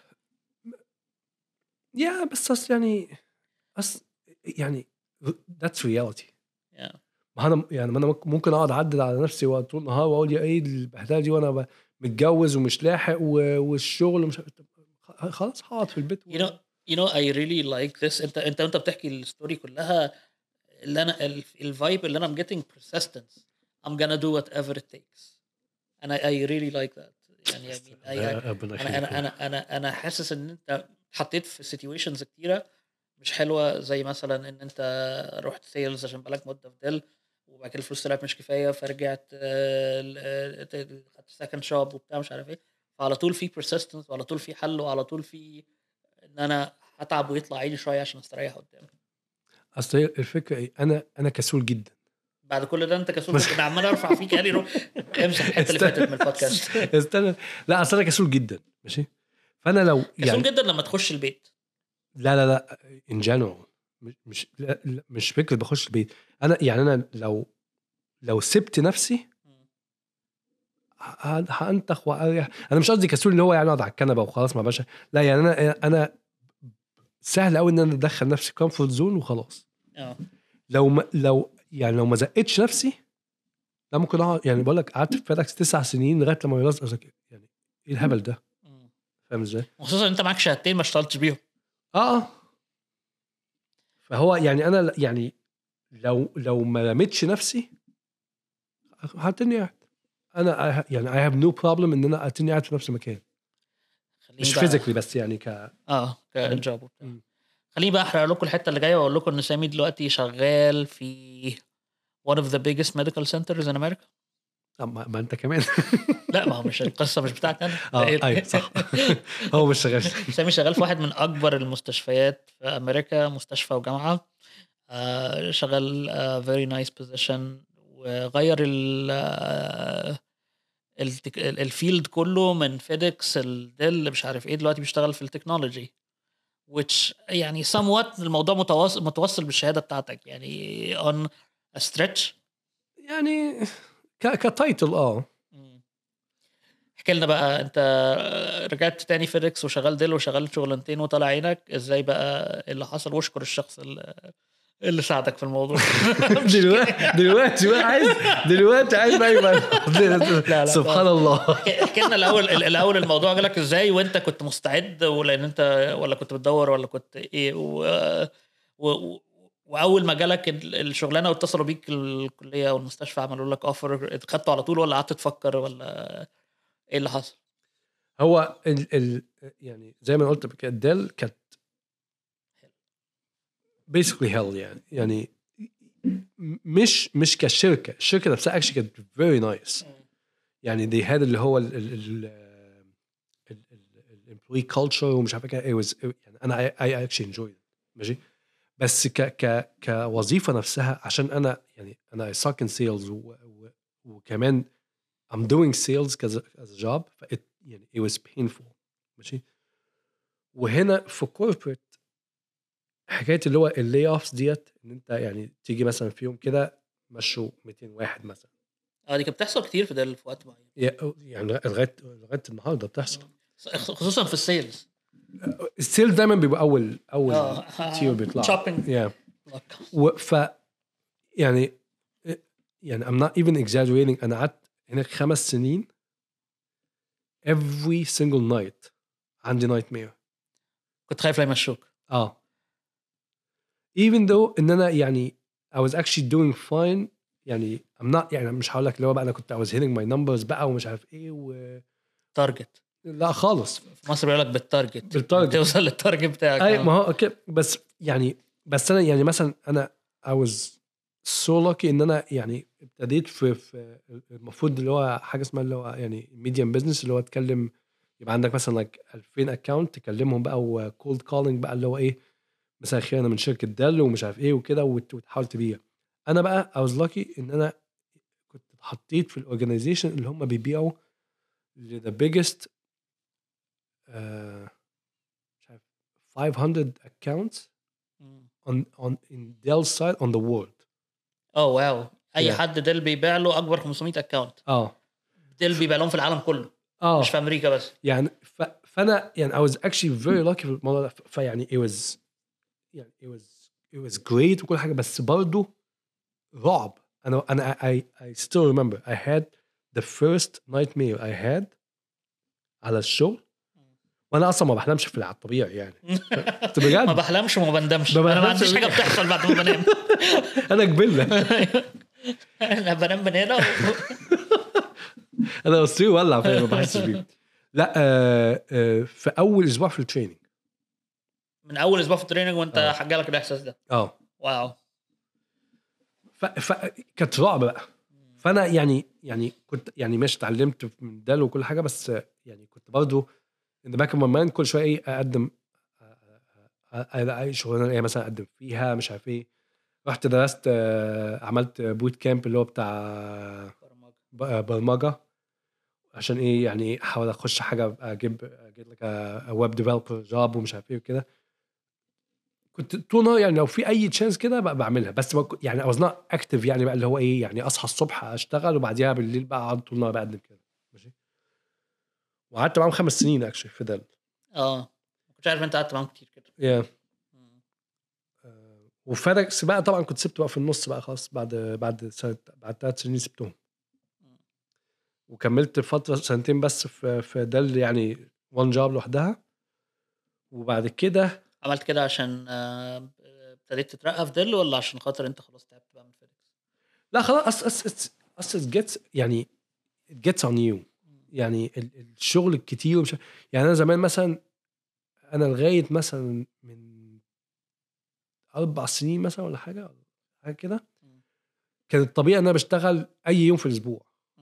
يا بس أصل يعني أصل يعني that's reality. yeah. ما انا يعني ما انا ممكن اقعد اعدل على نفسي طول النهار واقول يا ايه البهدله دي وانا ب- متجوز ومش لاحق و- والشغل ومش خ- خلاص هقعد في البيت و... you know you know I really like this. انت انت انت بتحكي الستوري كلها، اللي انا الفايب اللي انا I'm getting persistence. I'm gonna do whatever it takes and I, I really like that. يعني I mean, I, I, ربنا انا يخليك. انا انا انا انا حاسس ان انت اتحطيت في situations كتيره مش حلوه، زي مثلا ان انت رحت سيلز عشان بقالك مده في ديل وبعد كده الفلوس طلعت مش كفايه فرجعت آه، ل- آه، خدت سكند شوب وبتاع مش عارف ايه، فعلى طول في persistence وعلى طول في حل وعلى طول في ان انا هتعب ويطلع عيني شويه عشان استريح قدام. اصل هي الفكره ايه، انا انا كسول جدا. بعد كل ده انت كسول كنت عمال ارفع فيك يعني رو... امسح الحته اللي فاتت من البودكاست. استنى لا اصل انا كسول جدا ماشي. فانا لو كسول يعني جدا لما تخش البيت. لا لا لا in general مش مش لا لا مش فكره بخش البيت. انا يعني انا لو لو سبت نفسي ه- هانتخ واريح. انا مش قصدي كسول اللي هو يعني اقعد على الكنبه وخلاص ما باشا، لا يعني انا انا سهل قوي ان انا ادخل نفسي كومفورت زون وخلاص. اه لو ما لو يعني لو ما زقتش نفسي لا ممكن اقعد يعني بقول لك قعدت في فيدكس تسع سنين لغايه لما يلاقي يعني ايه الهبل ده، مم. فاهم ازاي؟ خصوصا انت معاك شهادتين ما اشتغلتش بيهم. اه اه فهو يعني انا يعني لو لو ما رميتش نفسي هتني قاعد. انا I- يعني I have no problem ان انا اتني قاعد في نفس المكان، خليني مش بقى فيزيكلي بس يعني ك اه كجوب وبتاع. مم. خليني بقى احرق لكم الحته اللي جايه واقول لكم ان سامي دلوقتي شغال في one of the biggest medical centers in America. آه، ما, ما انت كمان لا ما هو مش القصه مش بتاعتي انا. اه ايوه صح هو مش شغال. سامي شغال في واحد من اكبر المستشفيات في امريكا، مستشفى وجامعه. آه شغال آه very nice position وغير ال آه التك... ال- الفيلد كله من فيديكس الديل مش عارف ايه دلوقتي بيشتغل في التكنولوجي which يعني somewhat الموضوع متواصل متوصل بالشهاده بتاعتك يعني on a stretch. يعني ك كتايتل اه مم. احكي لنا بقى انت رجعت تاني فيديكس وشغال ديل وشغال شغلانتين وطلع عينك ازاي بقى اللي حصل واشكر الشخص اللي, اللي ساعدك في الموضوع. دلوقتي دلوقتي بقى عايز دلوقتي عايز بقى يبقى لا لا سبحان الله. احكي لنا الاول الاول الموضوع جالك ازاي وانت كنت مستعد ولا ان انت ولا كنت بتدور ولا كنت ايه و... و... واول ما جالك ال- الشغلانه واتصلوا بيك الكليه او المستشفى عملوا لك اوفر اتخدته على طول ولا قعدت تفكر ولا ايه اللي حصل؟ هو ال ال يعني زي ما قلت قبل كده ديل كانت basically hell يعني يعني مش مش كشركه، الشركه نفسها actually كانت very nice يعني they had اللي هو ال ال ال الامبلوي كلتشر ومش عارف كده it was يعني انا I, I actually enjoyed it ماشي. بس ك ك كوظيفه نفسها عشان انا يعني انا I suck in sales و, و, وكمان I'm doing sales as a, as a job ف it, يعني it was painful ماشي. وهنا في corporate حكايه اللي هو اللي اوفز ديت ان انت يعني تيجي مثلا في يوم كده مشوا مئتين واحد مثلا. اه دي كانت بتحصل كتير في ده في وقت معين يعني لغايه لغايه النهارده بتحصل خصوصا في السيلز. السيل دايما بيبقى اول اول اه تير بيطلع shopping. yeah. وف يعني يعني I'm not even exaggerating انا قعدت هناك خمس سنين every single night عندي nightmare. كنت خايف لا يمشوك. اه even though ان انا يعني I was actually doing fine يعني I'm not يعني مش هقول لك اللي هو بقى انا كنت I was hitting my numbers بقى ومش عارف ايه و تارجت لا خالص في مصر بيقول لك بالتارجت بالتارجت. توصل للتارجت بتاعك. اي آه. ما هو اوكي بس يعني بس انا يعني مثلا انا I was so lucky ان انا يعني ابتديت في, في المفروض اللي هو حاجه اسمها اللي هو يعني ميديم بزنس اللي هو تكلم يبقى عندك مثلا like ألفين اكونت تكلمهم بقى وكولد كولينج بقى اللي هو ايه مثلا خير انا من شركه دل ومش عارف ايه وكده وتحاول تبيع. انا بقى I was lucky ان انا كنت اتحطيت في الاورجنايزيشن اللي هم بيبيعوا ل the biggest uh, مش عارف five hundred accounts on on in Dell's side on the world. اه واو اي Yeah. حد ديل بيبيع له اكبر خمسمية اكونت اه ديل بيبيع لهم في العالم كله اه مش في امريكا بس. يعني ف... فانا يعني I was actually very lucky في الموضوع ده. ف- فيعني it was يعني it was it was great وكل حاجه بس برضه رعب. انا انا I I still remember I had the first nightmare I had على الشغل وانا اصلا ما بحلمش في الطبيعي يعني بجد ما بحلمش وما بندمش. ما انا ما بحلمش عنديش حاجه بجد. بتحصل بعد ما بنام. انا قبلنا انا بنام من هنا و... انا اصلي ولع فيا ما بحسش بيه. لا آه آه في اول اسبوع في التريننج من اول اسبوع في التريننج وانت آه. حاجه الاحساس ده. اه واو ف... ف... كانت رعب بقى. فانا يعني يعني كنت يعني مش اتعلمت من ده وكل حاجه بس يعني كنت برضه ان باك اوف ماي كل شويه ايه اقدم اي شغلانه ايه مثلا اقدم فيها مش عارف ايه. رحت درست آه، عملت بوت كامب اللي هو بتاع ب- برمجه عشان ايه يعني احاول اخش حاجه اجيب اجيب لك ويب ديفلوبر جوب ومش عارف ايه وكده. كنت طول النهار يعني لو في اي تشانس كده بقى بعملها بس ما ك- يعني I was not active يعني بقى اللي هو ايه يعني اصحى الصبح اشتغل وبعديها بالليل بقى اقعد طول النهار بقدم كده ماشي. وقعدت معاهم خمس سنين اكشلي في ده. اه ما كنتش عارف انت قعدت معاهم كتير كده. yeah. آه، وفرق بقى طبعا كنت سبته بقى في النص بقى خلاص بعد بعد سنة بعد ثلاث سنين سبتهم وكملت فترة سنتين بس في في دل يعني وان جاب لوحدها. وبعد كده عملت كده عشان آه، ابتديت تترقى في دل ولا عشان خاطر انت خلاص تعبت بقى من فيديكس؟ لا خلاص أس أس أس أس جيتس يعني it gets on you يعني ال- الشغل الكتير ومش يعني أنا زمان مثلا أنا لغاية مثلا من أربع سنين مثلا ولا حاجة حاجة كده كان الطبيعي إن أنا بشتغل أي يوم في الأسبوع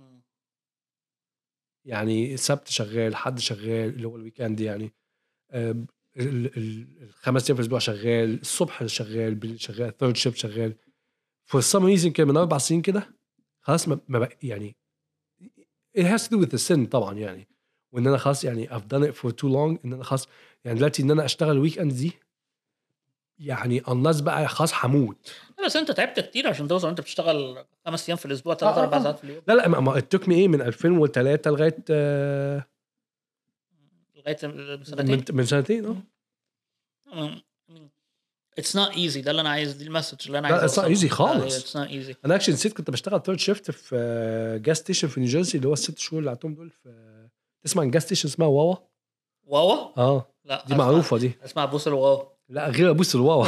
يعني السبت شغال حد شغال اللي هو الويكند يعني آه، ال- ال- الخمس ايام في الاسبوع شغال الصبح شغال بالليل شغال ثيرد شيفت شغال فور سم ريزن كده من اربع سنين كده خلاص ما ما بق- يعني it has to do with the sin طبعا يعني، وان انا خلاص يعني I've done it for too long، ان انا خلاص يعني دلوقتي ان انا اشتغل ويك اند دي يعني الناس بقى خلاص هموت. بس انت تعبت كتير عشان توصل انت بتشتغل خمس ايام في الاسبوع ثلاث اربع ساعات في اليوم. لا لا ما التوك مي ايه من ألفين وثلاثة لغايه آه لغايه سنتين من, من سنتين اه It's not easy. ده اللي انا عايز، دي المسج اللي انا عايز لا it's not easy خالص. It's not easy. انا اكشن نسيت كنت بشتغل ثيرد شيفت في جاز ستيشن في نيوجيرسي اللي هو الست شهور اللي قعدتهم دول في، تسمع عن جاز ستيشن اسمها واوا؟ واوا اه لا دي معروفه دي. اسمع بوس الواوا. لا غير بوس الواوا.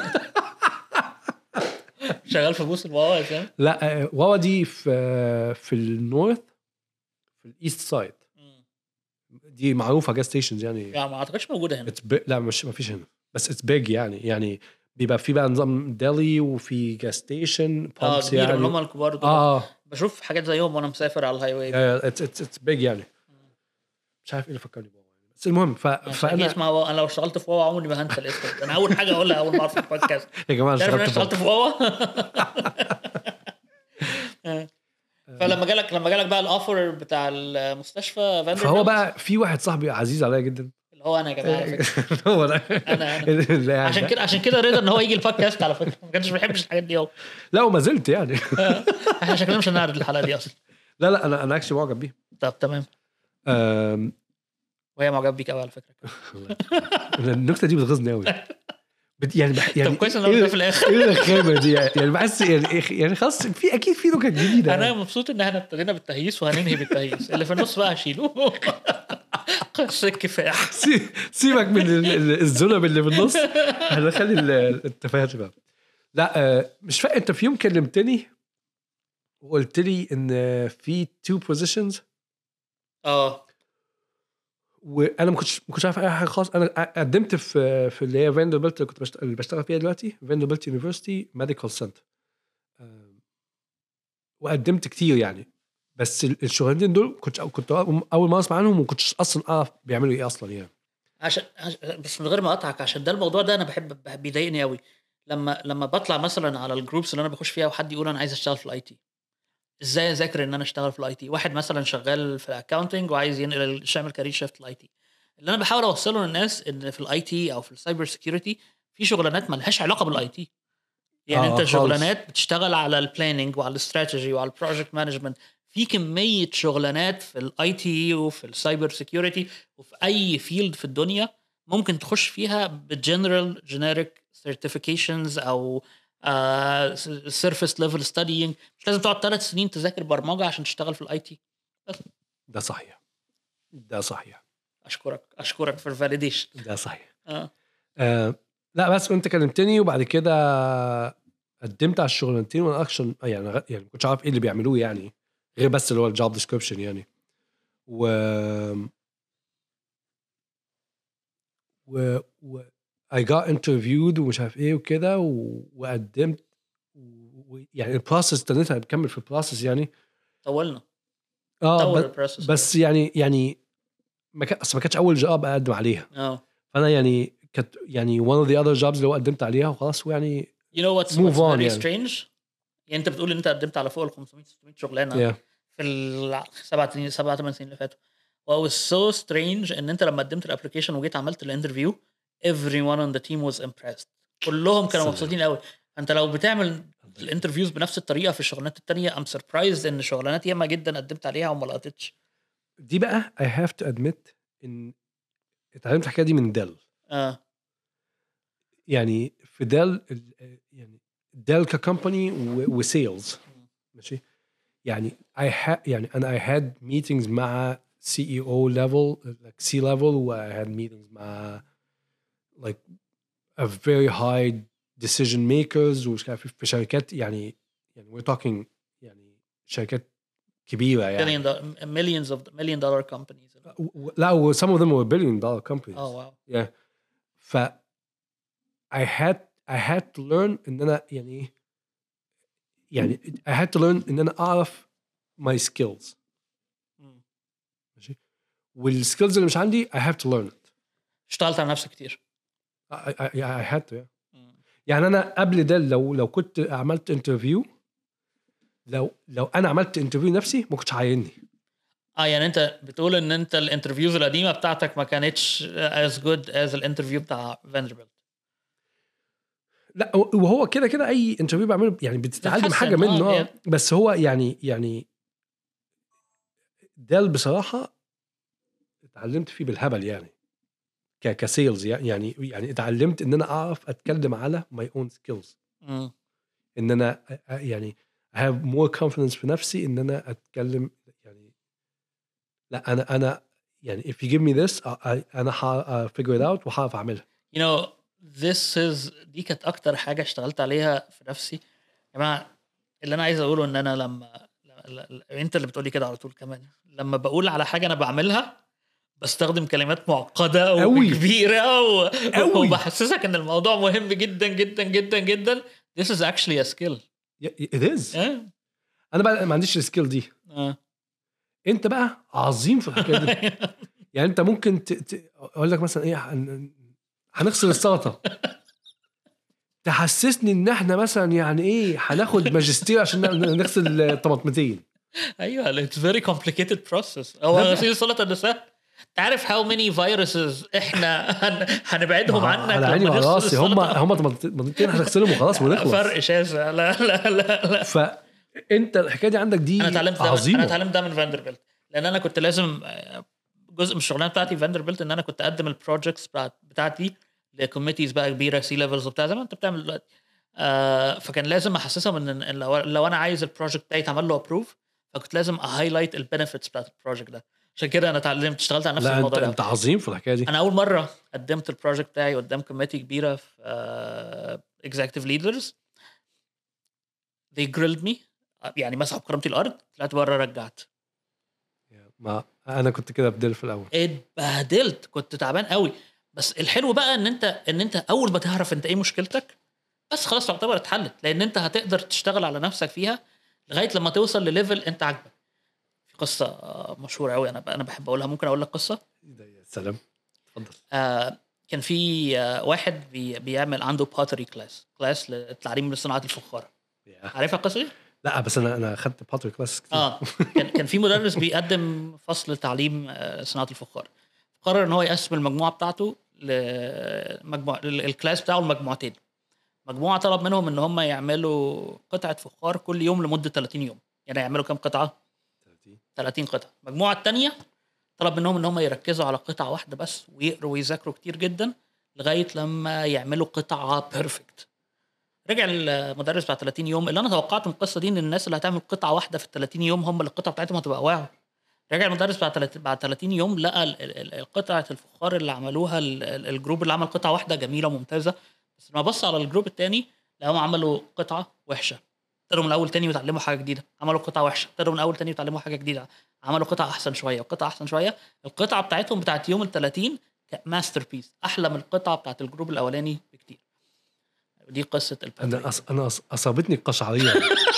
شغال في بوس الواوا يا سام؟ لا واوا دي في في النورث في الايست سايد، دي معروفه جاز ستيشنز يعني. يعني ما اعتقدش موجوده هنا. لا مش ما فيش هنا، بس اتس بيج يعني يعني بيبقى في بقى نظام ديلي وفي جاز ستيشن بامبس يعني هم الكبار دول. اه بشوف حاجات زيهم وانا مسافر على الهاي واي. اتس اتس اتس بيج يعني. مش عارف ايه اللي فكرني بواوا يعني. بس المهم ف... فانا اسمع واوا. انا لو اشتغلت في واوا عمري ما هنسى الاسم. انا اول حاجه اقولها اول ما اعرف البودكاست يا جماعه انا اشتغلت في واوا. فلما جالك لما جالك بقى الاوفر بتاع المستشفى فاندر، فهو بقى في واحد صاحبي عزيز عليا جدا اللي هو انا يا جماعه. هو ده انا انا عشان كده عشان كده رضا ان هو يجي البودكاست على فكره. ما كانش بيحبش الحاجات دي هو. لا وما زلت يعني. احنا شكلنا مش هنعرض الحلقه دي اصلا. لا لا انا انا اكشلي معجب بيه. طب تمام. أم... وهي معجب بيك قوي على فكره. النكته دي بتغيظني قوي يعني بح... يعني طب كويس ان انا في الاخر ايه الخامه دي يعني بحس يعني يعني خلاص في اكيد في نكت جديده. انا مبسوط ان احنا ابتدينا بالتهييس وهننهي بالتهييس. اللي في النص بقى هشيله. قصه كفاح. سيبك من الذنب اللي في النص، هنخلي التفاهات بقى. لا مش فاكر انت في يوم كلمتني وقلت لي ان في تو بوزيشنز اه وانا ما كنتش ما كنتش عارف اي حاجه خالص. انا قدمت في في اللي هي فاندربلت اللي كنت بشتغل, اللي بشتغل فيها دلوقتي، فاندربلت يونيفرسيتي ميديكال سنتر، وقدمت كتير يعني. بس الشغلانتين دول كنت كنت اول ما اسمع عنهم وما كنتش اصلا اعرف بيعملوا ايه اصلا يعني. عشان بس من غير ما اقطعك، عشان ده الموضوع ده انا بحب بيضايقني قوي لما لما بطلع مثلا على الجروبس اللي انا بخش فيها وحد يقول انا عايز اشتغل في الاي تي. ازاي اذاكر ان انا اشتغل في الاي تي؟ واحد مثلا شغال في الاكاونتنج وعايز ينقل يعمل كارير شيفت للاي تي. اللي انا بحاول اوصله للناس ان في الاي تي او في السايبر سيكيورتي في شغلانات ما لهاش علاقه بالاي تي. يعني آه انت خالص. شغلانات بتشتغل على البلاننج وعلى الاستراتيجي وعلى البروجكت مانجمنت. في كميه شغلانات في الاي تي وفي السايبر سيكيورتي وفي اي فيلد في الدنيا ممكن تخش فيها بالجنرال جينيريك سيرتيفيكيشنز او سيرفيس ليفل ستادينج. مش لازم تقعد ثلاث سنين تذاكر برمجه عشان تشتغل في الاي تي. ده صحيح ده صحيح. اشكرك اشكرك في الفاليديشن. ده صحيح. اه, آه لا بس انت كلمتني وبعد كده قدمت على الشغلانتين وانا اكشن يعني يعني ما كنتش عارف ايه اللي بيعملوه يعني غير بس اللي هو الجوب ديسكريبشن يعني. و و, و... I got interviewed ومش عارف ايه وكده و... وقدمت و... يعني البروسس استنيتها بكمل في البروسس يعني طولنا اه بس, بس يعني يعني ما كان اصلا ما كانتش اول جوب اقدم عليها. اه فانا يعني كانت يعني one of the other jobs اللي قدمت عليها وخلاص ويعني you know what's, what's very يعني. strange يعني انت بتقول ان انت قدمت على فوق ال خمسمية ستمية شغلانه yeah. في السبع سنين سبعة ثمان سنين اللي فاتوا. what was so strange ان انت لما قدمت الابلكيشن وجيت عملت الانترفيو everyone on the team was impressed. كلهم كانوا مبسوطين قوي. انت لو بتعمل الانترفيوز بنفس الطريقه في الشغلانات التانية I'm surprised ان شغلانات ياما جدا قدمت عليها وما لقيتش. دي بقى I have to admit ان اتعلمت الحكايه دي من ديل. اه يعني في ديل يعني ديل ككمباني وسيلز ماشي يعني I had يعني انا I had meetings مع سي إي أو level like C level و I had meetings مع like a very high decision makers ومش عارف في شركات يعني يعني we're talking يعني شركات كبيرة يعني billion millions of million dollar companies. لا و some of them were billion dollar companies. oh wow yeah ف I had I had to learn إن أنا يعني يعني I had to learn إن أنا أعرف my skills ماشي والskills اللي مش عندي I have to learn it. اشتغلت على نفسك كتير. I, I, I had to yeah. يعني أنا قبل ده لو لو كنت عملت interview لو لو أنا عملت interview نفسي ما كنتش عايني. اه يعني انت بتقول ان انت الانترفيوز القديمه بتاعتك ما كانتش as good as الانترفيو بتاع فاندربيلت. لا وهو كده كده اي انترفيو بعمله يعني بتتعلم حاجه بتتحسن، منه اه آه. بس هو يعني يعني ده بصراحه اتعلمت فيه بالهبل يعني ك كسيلز يعني يعني اتعلمت ان انا اعرف اتكلم على ماي اون سكيلز، مم. ان انا أ- أ- يعني I have more confidence في نفسي ان انا اتكلم يعني لا انا انا يعني if you give me this I, I, انا ح figure it out وهعرف اعملها. you know this is دي كانت اكتر حاجه اشتغلت عليها في نفسي يا جماعه. اللي انا عايز اقوله ان انا لما ل- ل- انت اللي بتقولي كده على طول كمان، لما بقول على حاجه انا بعملها بستخدم كلمات معقده أوي. وكبيره و... أوي. وبحسسك ان الموضوع مهم جدا جدا جدا جدا. this is actually a skill. Yeah, it is. اه انا بقى ما عنديش السكيل دي، اه انت بقى عظيم في الحكايه دي. يعني انت ممكن ت... ت... اقول لك مثلا ايه هن... هنغسل السلطه تحسسني ان احنا مثلا يعني ايه هناخد ماجستير عشان نغسل طماطمتين. ايوه it's very complicated process. هو غسيل السلطه ده سهل. تعرف how many viruses احنا هن... هنبعدهم عنك على عيني لما وعلى نغسل راسي، هم السلطه. هم طماطمتين هنغسلهم وخلاص ونخلص. فرق شاسع. لا لا لا لا فانت الحكايه دي عندك دي انا اتعلمت ده عظيمه. انا اتعلمت ده من فاندربيلت، لان انا كنت لازم جزء من الشغلانه بتاعتي في فاندربيلت ان انا كنت اقدم البروجكتس بتاعت بتاعتي لكوميتيز بقى كبيره سي ليفلز وبتاع زي ما انت بتعمل دلوقتي. آه فكان لازم احسسهم ان إن لو, لو انا عايز البروجكت بتاعي يتعمل له ابروف فكنت لازم اهايلايت البنفيتس بتاعت البروجكت ده. عشان كده انا اتعلمت اشتغلت على نفس لا انت الموضوع ده. انت عظيم في الحكايه دي. انا اول مره قدمت البروجكت بتاعي قدام كوميتي كبيره في اكزيكتيف ليدرز they grilled me يعني مسحوا بكرامتي الارض، طلعت بره رجعت. ما انا كنت كده بدل في الاول اتبهدلت كنت تعبان قوي. بس الحلو بقى ان انت ان انت اول ما تعرف انت ايه مشكلتك بس خلاص تعتبر اتحلت، لان انت هتقدر تشتغل على نفسك فيها لغايه لما توصل لليفل انت عاجبك. في قصه مشهوره قوي انا انا بحب اقولها، ممكن اقول لك قصه؟ يا سلام اتفضل. آه كان في آه واحد بي بيعمل عنده باتري كلاس كلاس للتعليم لصناعه الفخار. عارفها القصه دي؟ لا بس انا انا اخدت باتري كلاس كتير. اه كان كان في مدرس بيقدم فصل تعليم آه صناعه الفخار، قرر ان هو يقسم المجموعه بتاعته لمجموعه الكلاس بتاعه لمجموعتين. مجموعه طلب منهم ان هم يعملوا قطعه فخار كل يوم لمده ثلاثين يوم، يعني يعملوا كام قطعه؟ ثلاثين قطعه. المجموعه الثانيه طلب منهم ان هم يركزوا على قطعه واحده بس ويقروا ويذاكروا كتير جدا لغايه لما يعملوا قطعه بيرفكت. رجع المدرس بعد ثلاثين يوم، اللي انا توقعته من القصه دي ان الناس اللي هتعمل قطعه واحده في ال ثلاثين يوم هم اللي القطعه بتاعتهم هتبقى واو. رجع المدرس بعد بعد ثلاثين يوم لقى القطعه الفخار اللي عملوها الجروب اللي عمل قطعه واحده جميله وممتازه، بس لما بص على الجروب الثاني لقاهم عملوا قطعه وحشه. ابتدوا من الاول تاني وتعلموا حاجه جديده، عملوا قطعه وحشه، ابتدوا من الاول تاني وتعلموا حاجه جديده، عملوا قطعه احسن شويه وقطعه احسن شويه. القطعه بتاعتهم بتاعت يوم ال ثلاثين ماستر بيس، احلى من القطعه بتاعت الجروب الاولاني بكتير. دي قصه الباتري. انا أص... انا أص... اصابتني القشعريه.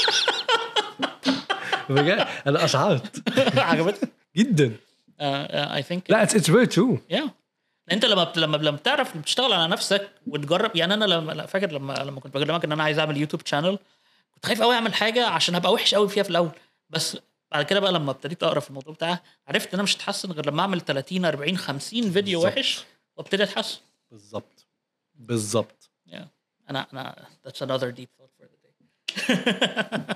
بجد انا اشعرت عجبتك جدا. اي ثينك لا اتس فيري ترو. يا انت لما لما لما بتعرف بتشتغل على نفسك وتجرب. يعني انا لما فاكر لما لما كنت بكلمك ان انا عايز اعمل يوتيوب شانل كنت خايف قوي اعمل حاجه عشان هبقى وحش قوي فيها في الاول، بس بعد كده بقى لما ابتديت اقرا في الموضوع بتاعه عرفت ان انا مش هتحسن غير لما اعمل ثلاثين أربعين خمسين فيديو بالزبط. وحش وابتدي اتحسن. بالظبط بالظبط. yeah. انا انا that's another deep thought for the day.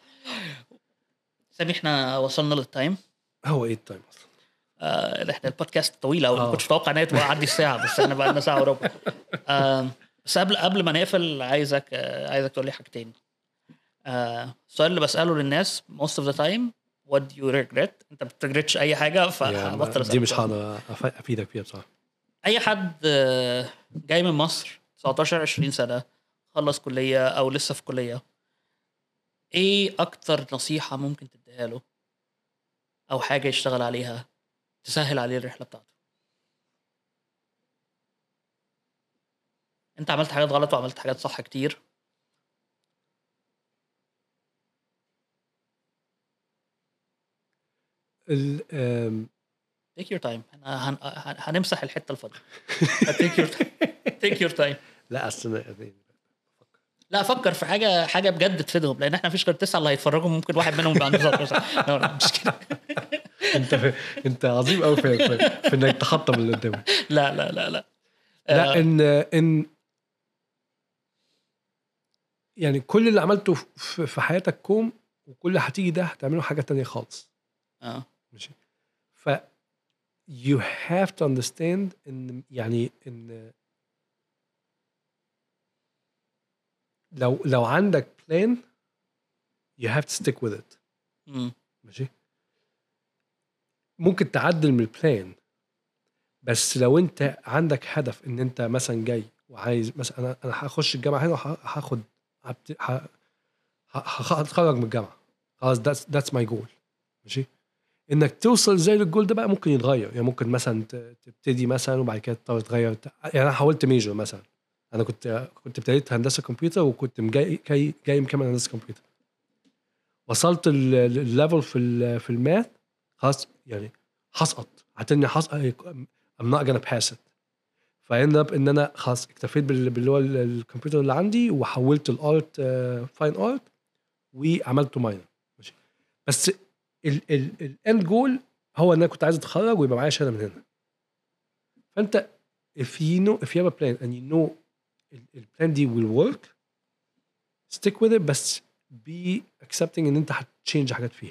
سامي احنا وصلنا للتايم. هو ايه التايم اصلا؟ آه احنا البودكاست طويله وما آه. كنتش متوقع ان هي تبقى عدي الساعه، بس احنا بقى لنا ساعه وربع. آه بس قبل قبل ما نقفل عايزك آه عايزك تقول لي حاجتين. آه السؤال اللي بساله للناس most of the time what do you regret؟ انت بترجريتش اي حاجه فهبطل دي مش هقدر افيدك فيها بصراحه. اي حد آه جاي من مصر تسعتاشر عشرين سنه خلص كليه او لسه في كليه، ايه اكتر نصيحه ممكن تديها له او حاجه يشتغل عليها تسهل عليه الرحله بتاعته؟ انت عملت حاجات غلط وعملت حاجات صح كتير. ال take your time. هن... هن... هنمسح الحته الفاضيه. take your take your time. لا اصل لا فكر في حاجه حاجه بجد تفيدهم، لان احنا مفيش غير تسعه اللي هيتفرجوا، ممكن واحد منهم يبقى عنده مش كده. انت في... انت عظيم قوي في... في... في انك تخطب اللي قدامك. لا لا لا لا لا آه، ان ان يعني كل اللي عملته في, في حياتك كوم، وكل اللي هتيجي ده هتعمله حاجه تانية خالص. اه ماشي. ف you have to understand ان يعني ان لو لو عندك plan you have to stick with it. مم. ماشي. ممكن تعدل من البلان، بس لو انت عندك هدف ان انت مثلا جاي وعايز مثلا انا انا هخش الجامعه هنا وهاخد هتخرج من الجامعه خلاص that's that's my goal. ماشي. انك توصل زي للجول ده بقى ممكن يتغير، يعني ممكن مثلا تبتدي مثلا وبعد كده تضطر تغير. يعني انا حاولت ميجر مثلا، انا كنت كنت ابتديت هندسه كمبيوتر وكنت جاي جاي جاي مكمل هندسه كمبيوتر، وصلت الليفل في ال في الماث خلاص يعني هسقط هتني هسقط I'm not gonna pass it. فاند اب ان انا خلاص اكتفيت باللي هو الكمبيوتر اللي عندي وحولت الارت فاين ارت وعملته ماينر. ماشي. بس الاند جول هو ان انا كنت عايز اتخرج ويبقى معايا شهاده من هنا. فانت if you know if you have a plan and you know البلان دي will work stick with it، بس be accepting ان انت هتشينج حاجات فيها.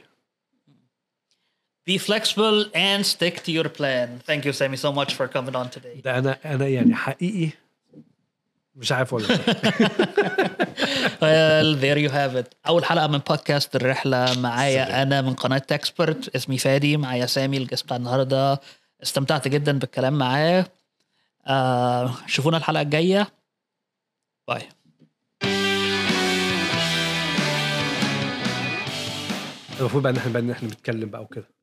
Be flexible and stick to your plan. Thank you, Sammy, so much for coming on today. ده انا انا يعني حقيقي مش عارف اقول لك. Well, there you have it. أول حلقة من بودكاست الرحلة معايا أنا من قناة تكسبرت. اسمي فادي، معايا سامي الجست بتاع النهاردة. استمتعت جدا بالكلام معاه. آه شوفونا الحلقة الجاية. باي. المفروض بقى ان احنا بقى ان احنا بنتكلم بقى وكده.